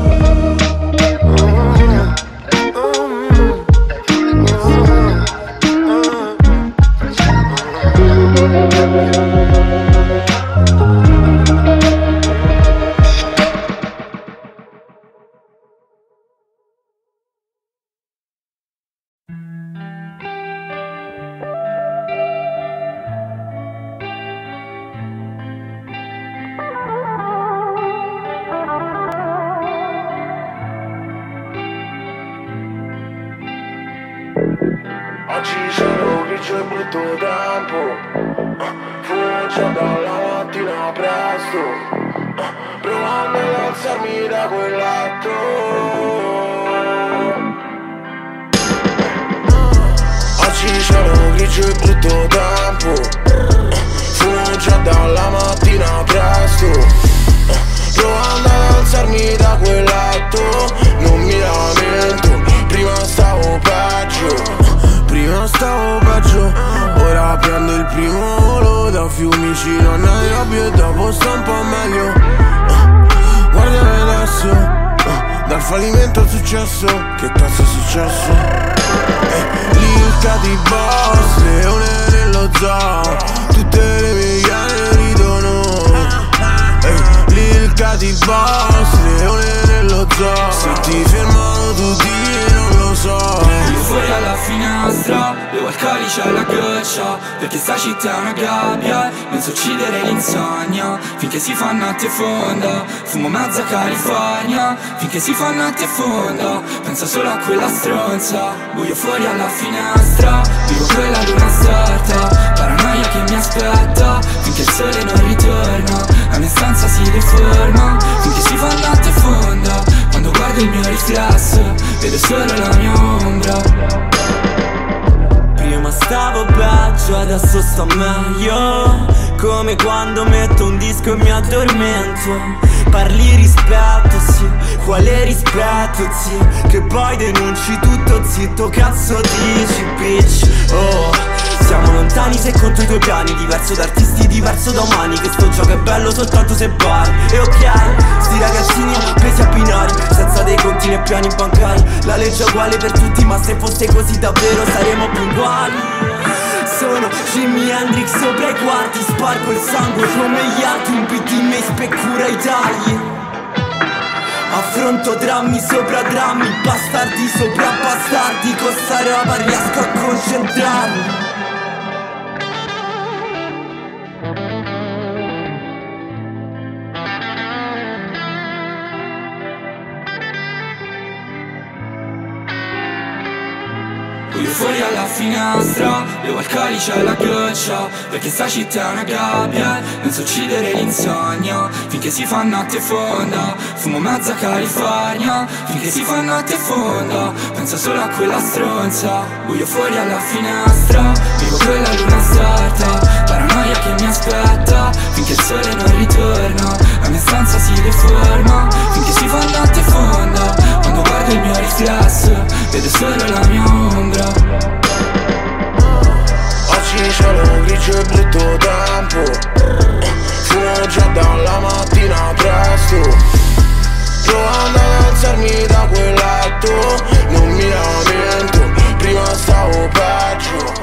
Oggi sono grigio e brutto tempo, fumo già dalla mattina presto, provando ad alzarmi da quel letto. Oggi sono grigio e brutto tempo, fumo già dalla mattina presto, provando ad alzarmi da quel letto. Non mi lamento, prima stavo peggio. Prima stavo peggio, ora prendo il primo volo da Fiumicino a Nairobi e dopo sto un po' meglio. uh, Guardami adesso, uh, dal fallimento al successo, che cazzo è successo? Eh, lì il Catiboss, leone nello zoo, tutte le mie iene ridono. Eh, lì il Catiboss, leone nello zoo, se ti fermano tutti non lo so. Fuori alla finestra, bevo il calice alla goccia, perché sta città è una gabbia, penso uccidere l'insonnia, finché si fa notte fonda, fumo mezza California, finché si fa notte fonda, penso solo a quella stronza, buio fuori alla finestra, vivo quella luna storta, paranoia che mi aspetta, finché il sole non ritorna, la mia stanza si deforma, finché si fa notte fonda, quando guardo il mio riflesso, vedo solo la mia ombra. peggio, adesso sto meglio. Come quando metto un disco e mi addormento. Parli rispetto, sì, quale rispetto, zio? Che poi denunci tutto, zitto, cazzo dici, bitch. Oh, siamo lontani se conto i tuoi piani. Diverso da artisti, diverso da umani. Che sto gioco è bello soltanto se bari. E ok, sti ragazzini presi a binari, senza dei conti né piani bancari. La legge è uguale per tutti, ma se fosse così davvero saremmo più uguali. Sono Jimi Hendrix sopra i quarti, spargo il sangue come gli altri. Un beat in me speccura i tagli. Affronto drammi sopra drammi, bastardi sopra bastardi. Con sta roba riesco a concentrarmi. Fuori alla finestra, bevo il calice alla ghiaccia, perché sta città è una gabbia, non so uccidere l'insonnia, finché si fa notte fonda. Fumo mezza California, finché si fa notte fonda. Penso solo a quella stronza, buio fuori alla finestra, vivo quella luna storta, paranoia che mi aspetta, finché il sole non ritorna, la mia stanza si deforma, finché si fa notte fonda. Quando guardo il mio riflesso, vedo solo la mia ombra. Oggi c'è un grigio e brutto tempo, fumo già dalla mattina presto. Provando ad alzarmi da quel letto, non mi lamento, prima stavo peggio.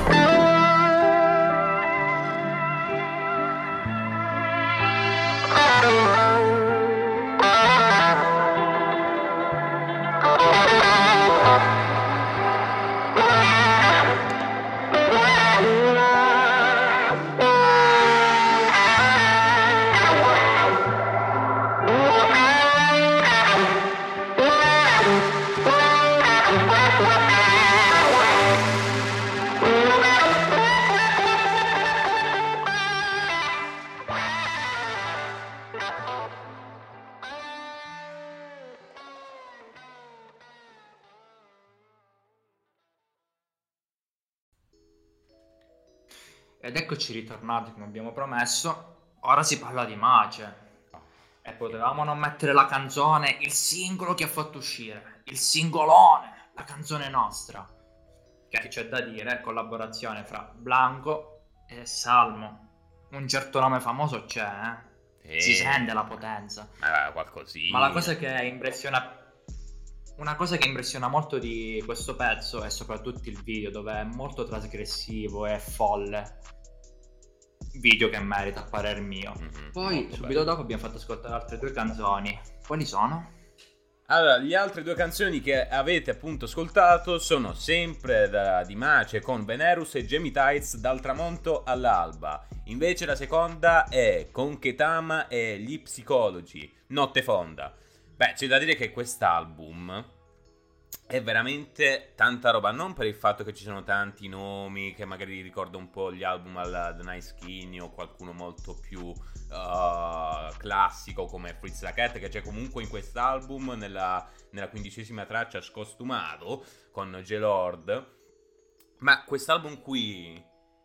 Ed eccoci ritornati come abbiamo promesso. Ora si parla di Mace. E potevamo non mettere la canzone, il singolo che ha fatto uscire, il singolone, la canzone nostra. Che c'è da dire, collaborazione fra Blanco e Salmo. Un certo nome famoso c'è, eh? Si sente la potenza. Ma qualcosina. Ma la cosa che impressiona Una cosa che impressiona molto di questo pezzo è soprattutto il video, dove è molto trasgressivo e folle. Video che merita, a parer mio. Mm-hmm, Poi subito bello. Dopo abbiamo fatto ascoltare altre due canzoni. Quali sono? Allora, le altre due canzoni che avete appunto ascoltato sono sempre da, di Mace con Venerus e Jamie Tights, Dal tramonto all'alba. Invece la seconda è con Ketama e Gli Psicologi, Notte fonda. Beh, c'è da dire che quest'album è veramente tanta roba, non per il fatto che ci sono tanti nomi, che magari ricorda un po' gli album alla The Nice Skinny o qualcuno molto più uh, classico come Fritz la Cat, che c'è comunque in quest'album nella, nella quindicesima traccia Scostumato con J-Lord. Ma quest'album qui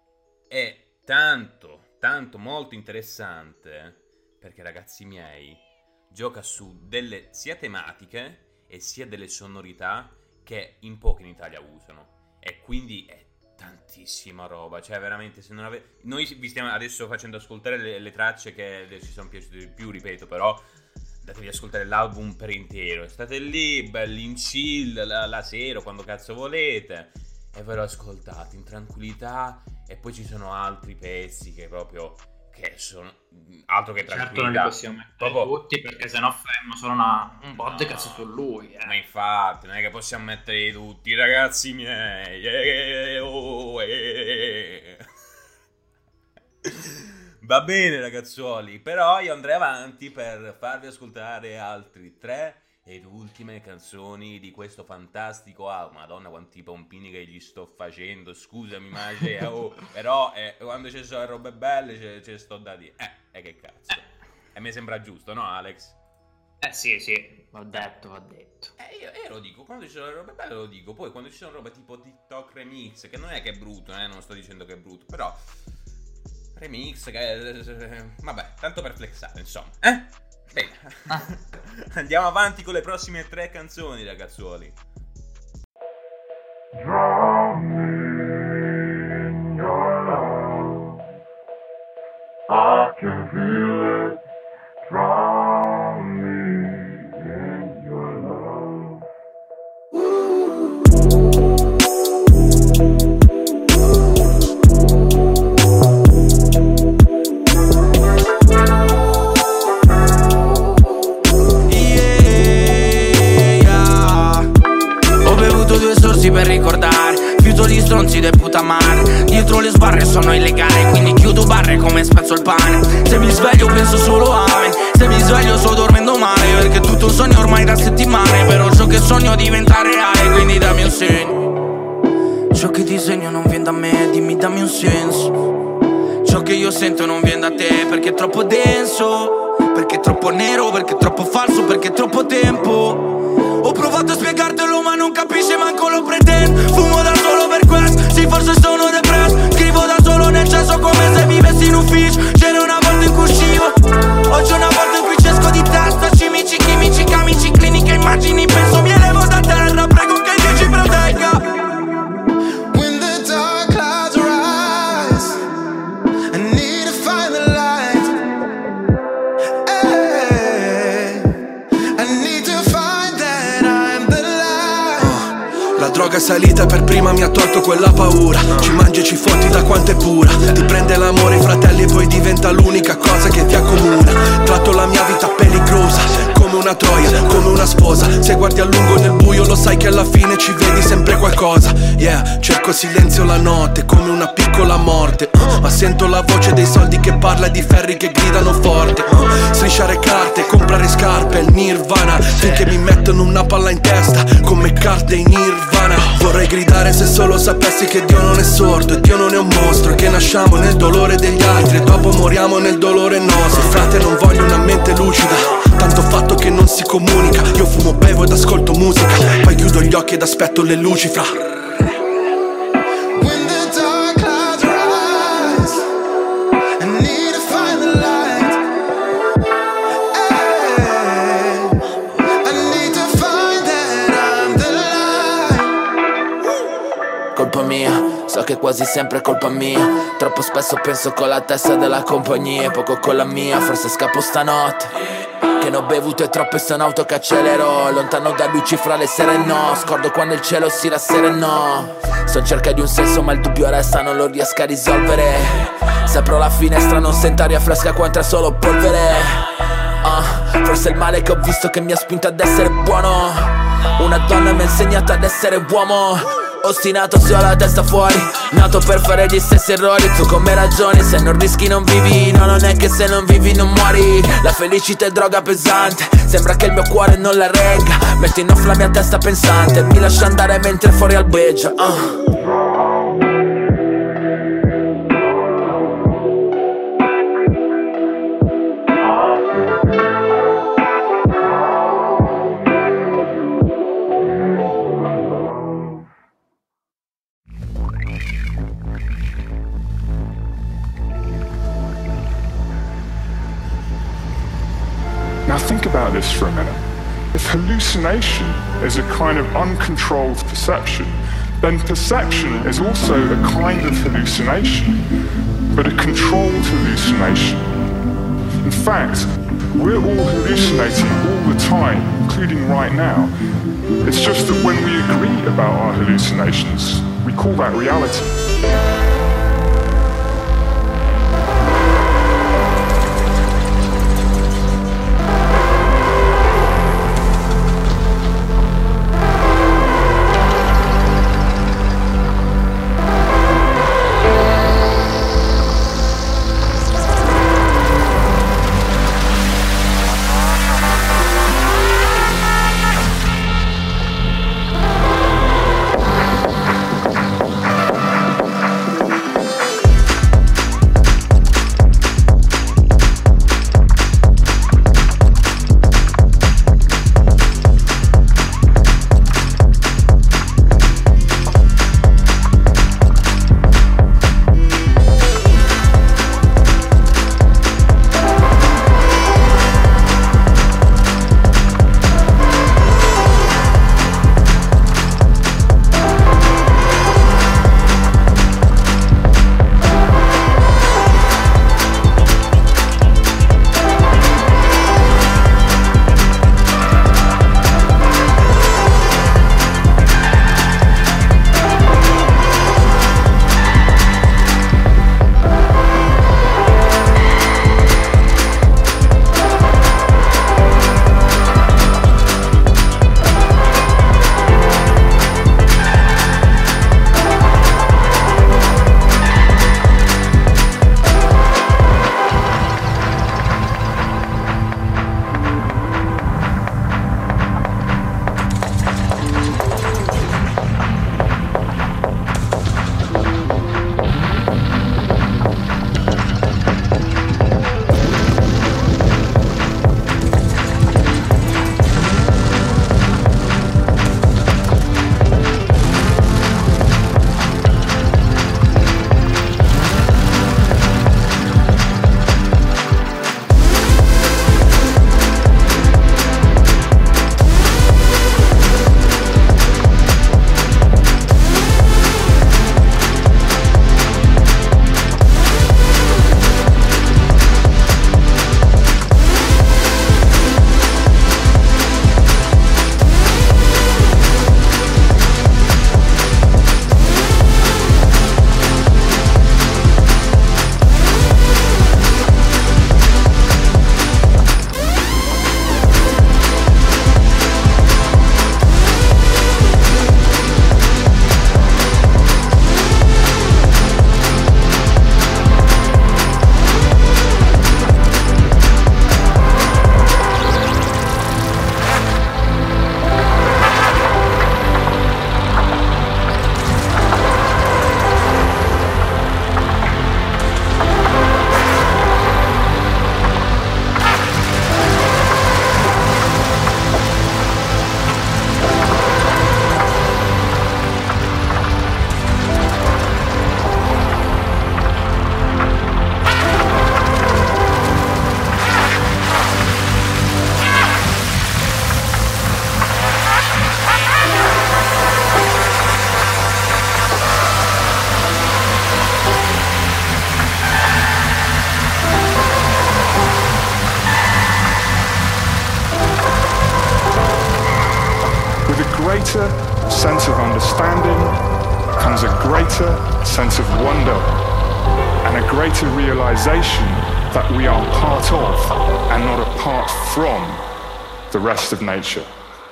è tanto, tanto molto interessante perché, ragazzi miei, gioca su delle sia tematiche e sia delle sonorità che in pochi in Italia usano, e quindi è tantissima roba. Cioè veramente, se non avete, noi vi stiamo adesso facendo ascoltare le, le tracce che ci sono piaciute di più, ripeto, però datevi ascoltare l'album per intero, state lì belli in chill la, la sera, quando cazzo volete, e ve lo ascoltate in tranquillità. E poi ci sono altri pezzi che proprio che sono altro che tranquillità. Certo non li possiamo mettere proprio tutti, perché sennò faremmo solo una, un podcast no, su lui, eh. Ma infatti non è che possiamo mettere tutti, ragazzi miei. eh, oh, eh. Va bene, ragazzuoli, però io andrei avanti per farvi ascoltare altri tre ed ultime canzoni di questo fantastico album. Madonna quanti pompini che gli sto facendo, scusami Mace, oh, però eh, quando ci sono robe belle ce, ce sto da dire, eh, e eh, che cazzo, e mi sembra giusto, no Alex? Eh sì, sì, ho detto, ho detto. Eh, io, io lo dico, quando ci sono le robe belle lo dico, poi quando ci sono robe tipo TikTok remix, che non è che è brutto, eh, non sto dicendo che è brutto, però remix, che vabbè, tanto per flexare, insomma, eh? Bene, andiamo avanti con le prossime tre canzoni, ragazzuoli. Draw me in your love, I can feel it. Draw me in your love. Yeah. Ho bevuto due sorsi per ricordare, fiuto gli stronzi del putamare. Dietro le sbarre sono illegale, quindi chiudo barre come spezzo il pane. Se mi sveglio penso solo a me, se mi sveglio sto dormendo male, perché tutto un sogno ormai da settimane. Però ciò che sogno diventa reale, quindi dammi un segno. Ciò che disegno non viene da me, dimmi dammi un senso. Ciò che io sento non viene da te, perché è troppo denso, perché è troppo nero, perché è troppo falso, perché è troppo tempo. Ho provato a spiegartelo ma non capisci manco lo pretendo. Fumo da solo per questo, sì forse sono depresso. Scrivo da solo nel cesso come se vivessi in ufficio. C'era una volta in cui uscivo, oggi è una volta in cui ci esco di testa. Cimici, chimici, camici, cliniche, immagini. Penso mi elevo da terra, prego che Dio ci protegga. When the dark clouds rise, I need to find the light. Hey, I need to find that I'm the light. La droga è salita per prima, mi ha tolto quella paura. Ci mangi e ci fotti da quanto è pura. Ti prende l'amore, i fratelli, e poi diventa l'unica cosa che ti accomuna. Tratto la mia vita peligrosa, come una troia, come una sposa. Se guardi a lungo nel buio lo sai che alla fine ci vedi sempre qualcosa. Yeah, cerco silenzio la notte, come una piccola morte. uh, Ma sento la voce dei soldi che parla e di ferri che gridano forte. uh, Strisciare carte, comprare scarpe, il nirvana. Finché mi mettono una palla in testa, come carte in nirvana. Vorrei gridare se solo sapessi che Dio non è sordo e Dio non è un mostro, e che nasciamo nel dolore degli altri e dopo moriamo nel dolore nostro. Frate, non voglio una mente lucida, tanto fatto che non si comunica. Io fumo, bevo ed ascolto musica, poi chiudo gli occhi ed aspetto le luci fra. When the dark clouds rise, I need to find the light. Hey, I need to find that I'm the light. Colpa mia, so che quasi sempre è colpa mia. Troppo spesso penso con la testa della compagnia e poco con la mia. Forse scappo stanotte, che ne ho bevute troppe, sono auto che accelerò. Lontano da luci fra le sere no, scordo quando il cielo si rasserenò. Sto in cerca di un senso ma il dubbio resta, non lo riesco a risolvere. Se apro la finestra non sento aria fresca qua entra solo polvere. uh, Forse è il male che ho visto che mi ha spinto ad essere buono. Una donna mi ha insegnato ad essere uomo. Ostinato se ho la testa fuori, nato per fare gli stessi errori. Tu come ragioni, se non rischi non vivi. No, non è che se non vivi non muori. La felicità è droga pesante, sembra che il mio cuore non la regga. Metti in off la mia testa pensante, mi lascia andare mentre fuori albeggia. uh. Now think about this for a minute. If hallucination is a kind of uncontrolled perception, then perception is also a kind of hallucination, but a controlled hallucination. In fact, we're all hallucinating all the time, including right now. It's just that when we agree about our hallucinations, we call that reality. greater sense of understanding comes a greater sense of wonder and a greater realization that we are part of and not apart from the rest of nature.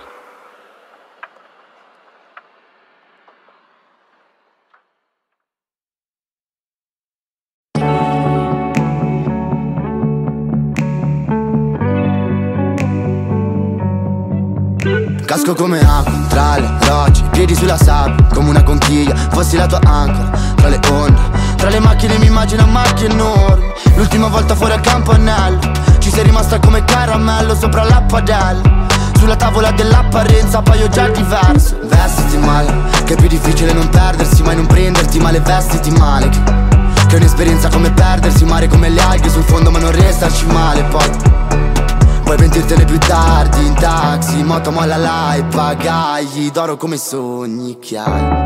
Casco come acqua, tra le rocce, piedi sulla sabbia, come una conchiglia, fossi la tua ancora, tra le onde, tra le macchine mi immagino macchie enormi, l'ultima volta fuori al campanello, ci sei rimasta come caramello sopra la padella, sulla tavola dell'apparenza paio già diverso, vestiti male, che è più difficile non perdersi, mai non prenderti male, vestiti male, che, che è un'esperienza come perdersi, mare come le alghe sul fondo ma non restarci male, poi puoi pentirtene più tardi in taxi, moto molla là e pagagli d'oro come sogni che hai.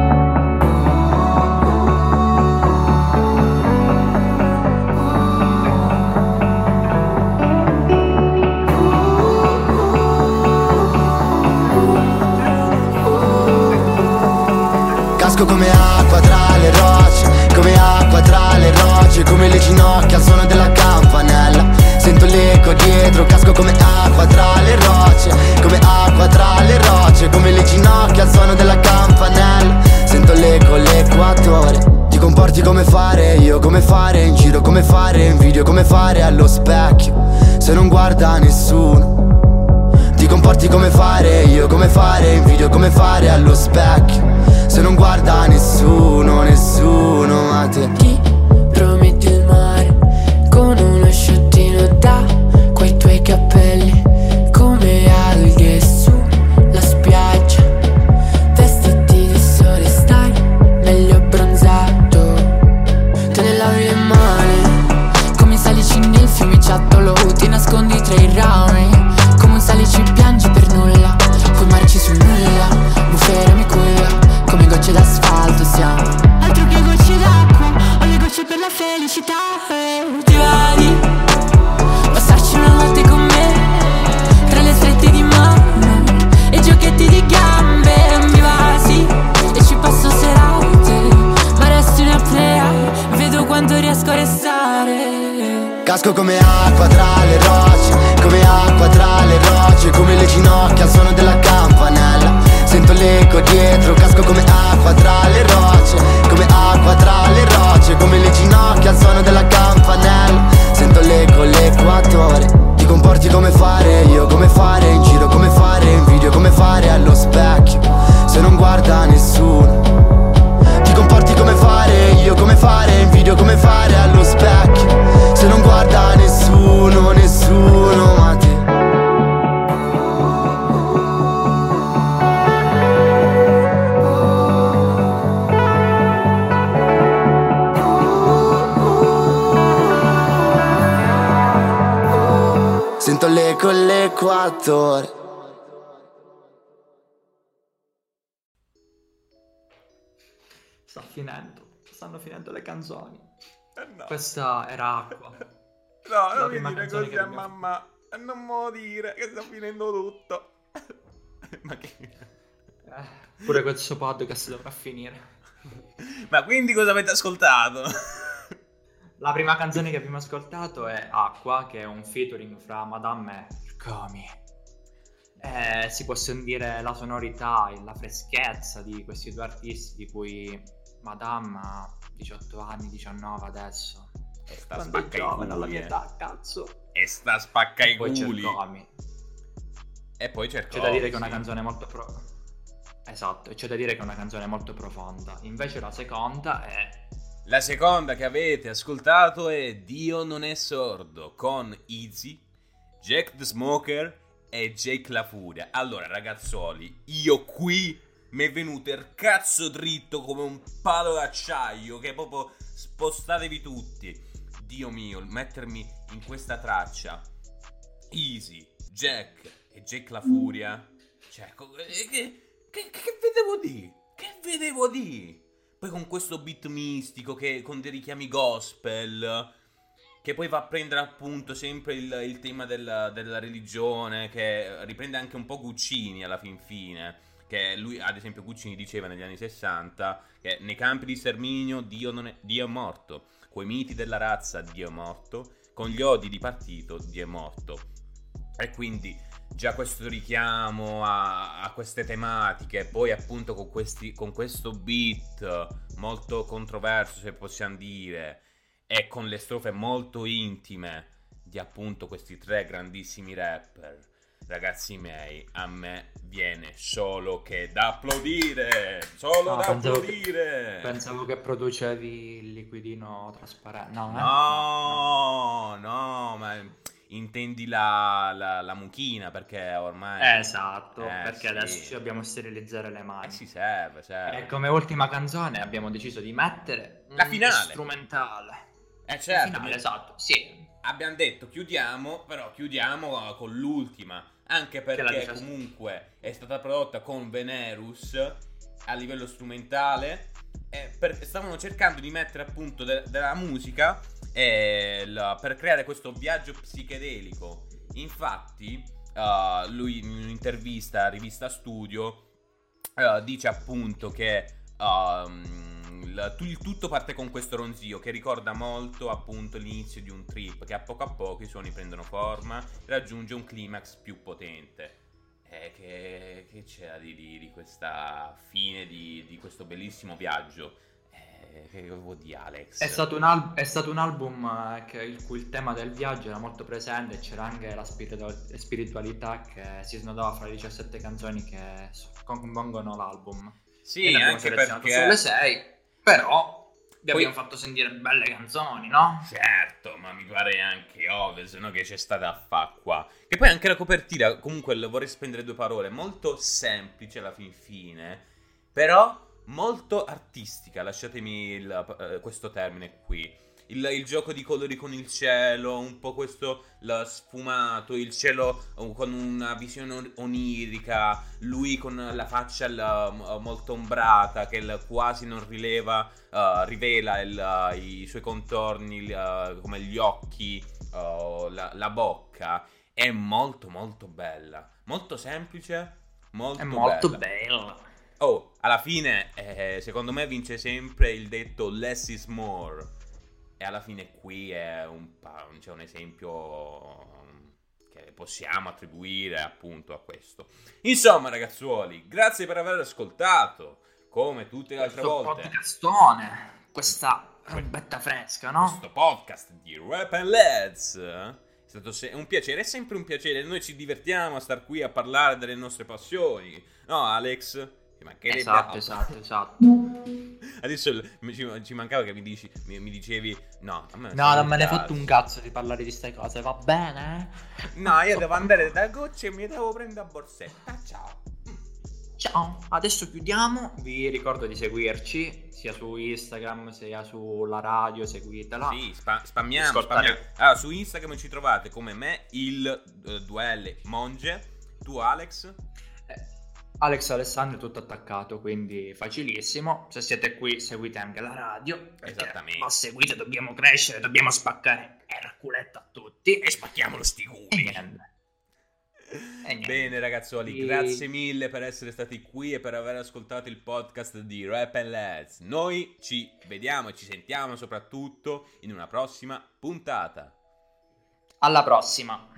Casco come acqua tra le rocce, come acqua tra le rocce, come le ginocchia al suono della campanella. Sento l'eco dietro, casco come acqua tra le rocce, come acqua tra le rocce, come le ginocchia al suono della campanella. Sento l'eco, l'equatore. Ti comporti come fare io, come fare in giro, come fare in video, come fare allo specchio, se non guarda nessuno. Ti comporti come fare io, come fare in video, come fare allo specchio, se non guarda nessuno, nessuno a te. Ti prometti il mare con uno sciottino da quei tuoi capelli, come alghe sulla spiaggia, vestiti di sole, stai meglio abbronzato. Te ne lavi le mani come salici nel fiumiciattolo, ti nascondi tra i rami come un salici, piangi per nulla, poi marci su nulla, bufera mi culla come gocce d'asfalto siamo. Altro che gocce d'acqua, ho le gocce per la felicità. Ti va di passarci una notte con me, tra le strette di mano e giochetti di gambe. Mi va sì, e ci passo serate, ma resto in apnea, vedo quanto riesco a restare. Casco come acqua tra le rocce, come acqua tra le rocce, come le ginocchia al suono della campanella. Sento l'eco dietro, casco come acqua tra le rocce, come acqua tra le rocce, come le ginocchia al suono della campanella. Sento l'eco, l'equatore. Ti comporti come fare io, come fare in giro, come fare in video, come fare allo specchio, se non guarda nessuno. Ti comporti come fare io, come fare in video, come fare allo specchio, se non guarda nessuno, nessuno ma te. Sento l'eco, l'equatore. Sta finendo, stanno finendo le canzoni. Eh no. Questa era Acqua. No, La non mi prima dire canzone così che a abbiamo- mamma. Non me lo dire che sta finendo tutto. Ma che... Eh, pure questo podcast dovrà finire. Ma quindi cosa avete ascoltato? La prima canzone che abbiamo ascoltato è Acqua, che è un featuring fra Madame e Comi. Eh, si può sentire la sonorità e la freschezza di questi due artisti, di cui Madame ha diciotto anni, diciannove adesso. E sta Quando è spacca i giovane alla culi, mia eh. età, cazzo. E sta spacca i Poi c'è culi. il Comi. E poi c'è il C'è da dire che è Comi, una sì. canzone molto pro... Esatto, e c'è da dire che è una canzone molto profonda. Invece la seconda è... La seconda che avete ascoltato è Dio non è sordo con Easy, Jack the Smoker e Jake La Furia. Allora ragazzoli, io qui mi è venuto il cazzo dritto come un palo d'acciaio, che proprio spostatevi tutti. Dio mio, mettermi in questa traccia Easy, Jack e Jake La Furia, cioè che, che, che, che vedevo di? Che vedevo di? Poi con questo beat mistico, che con dei richiami gospel, che poi va a prendere appunto sempre il, il tema della, della religione, che riprende anche un po' Guccini alla fin fine, che che lui, ad esempio, Guccini diceva negli anni sessanta che nei campi di sterminio Dio, non è, Dio è morto, coi miti della razza Dio è morto, con gli odi di partito Dio è morto. E quindi già questo richiamo a, a queste tematiche, poi appunto con, questi, con questo beat molto controverso, se possiamo dire, e con le strofe molto intime di appunto questi tre grandissimi rapper, ragazzi miei, a me viene solo che da applaudire, solo No, da pensavo applaudire. Che, pensavo che producevi il liquidino trasparente. No, eh? No, no, ma intendi la, la, la mucchina, perché ormai... Esatto, Eh, perché sì. adesso ci dobbiamo sterilizzare le mani. Eh si serve, serve. E come ultima canzone abbiamo deciso di mettere La un finale. strumentale. Eh certo, La finale, ma- esatto, sì. Abbiamo detto chiudiamo, però chiudiamo uh, con l'ultima, anche Che la perché dice- comunque è stata prodotta con Venerus a livello strumentale, e per- stavano cercando di mettere appunto de- della musica e la- per creare questo viaggio psichedelico. Infatti uh, lui in un'intervista a Rivista Studio uh, dice appunto che um, il, il tutto parte con questo ronzio che ricorda molto appunto l'inizio di un trip, che a poco a poco i suoni prendono forma e raggiunge un climax più potente. Eh, che, che c'era di, di, di questa fine di, di questo bellissimo viaggio? Eh, che vuol dire, Alex? È stato un, al- è stato un album eh, che- in cui il tema del viaggio era molto presente e c'era anche la spiritu- spiritualità che si snodava fra le diciassette canzoni che s- compongono l'album. Sì, E ne abbiamo anche selezionato perché- sulle sei, però vi Poi- abbiamo fatto sentire belle canzoni, no? Certo, ma mi pare anche ovvio, se no che c'è stata a fa qua. Che poi anche la copertina, comunque le vorrei spendere due parole, molto semplice alla fin fine, però molto artistica, lasciatemi il- eh, questo termine qui. Il, il gioco di colori con il cielo, un po' questo lo sfumato, il cielo eh, con una visione on- onirica, lui con la faccia il- m- molto ombrata che il- quasi non rileva, eh, rivela il- i suoi contorni, il- eh, come gli occhi, eh, la, la bocca. È molto molto bella, molto semplice, molto È molto bella. bella. Oh, alla fine, eh, secondo me vince sempre il detto less is more. E alla fine qui è un, pa- c'è un esempio che possiamo attribuire appunto a questo. Insomma, ragazzuoli, grazie per aver ascoltato. Come tutte le altre Questo volte, podcastone, questa robetta fresca, no? questo podcast di Rap and Lads è stato se- un piacere, è sempre un piacere. Noi ci divertiamo a star qui a parlare delle nostre passioni, no, Alex? Ci mancherebbe Esatto, altro. esatto, esatto. Adesso il- mi- ci, ci mancava che mi, dici, mi, mi dicevi no, a me No, non non me ne hai piace. fatto un cazzo di parlare di queste cose, va bene? No, io devo andare da Gucci e mi devo prendere a borsetta. Ciao. Ciao, adesso chiudiamo. Vi ricordo di seguirci sia su Instagram sia sulla radio, seguitela. Sì, spa- spammiamo, Ascoltare- spammiamo. Allora, su Instagram ci trovate come me, il eh, due L Monge. Tu, Alex? Alex Alessandro è tutto attaccato, quindi facilissimo. Se siete qui seguite anche la radio. Esattamente. Ma seguite, dobbiamo crescere, dobbiamo spaccare il culetto a tutti. E spacchiamolo sti culi. E niente. E niente. Bene, ragazzuoli, Sì. grazie mille per essere stati qui e per aver ascoltato il podcast di Rap and Lads. Noi ci vediamo e ci sentiamo soprattutto in una prossima puntata. Alla prossima.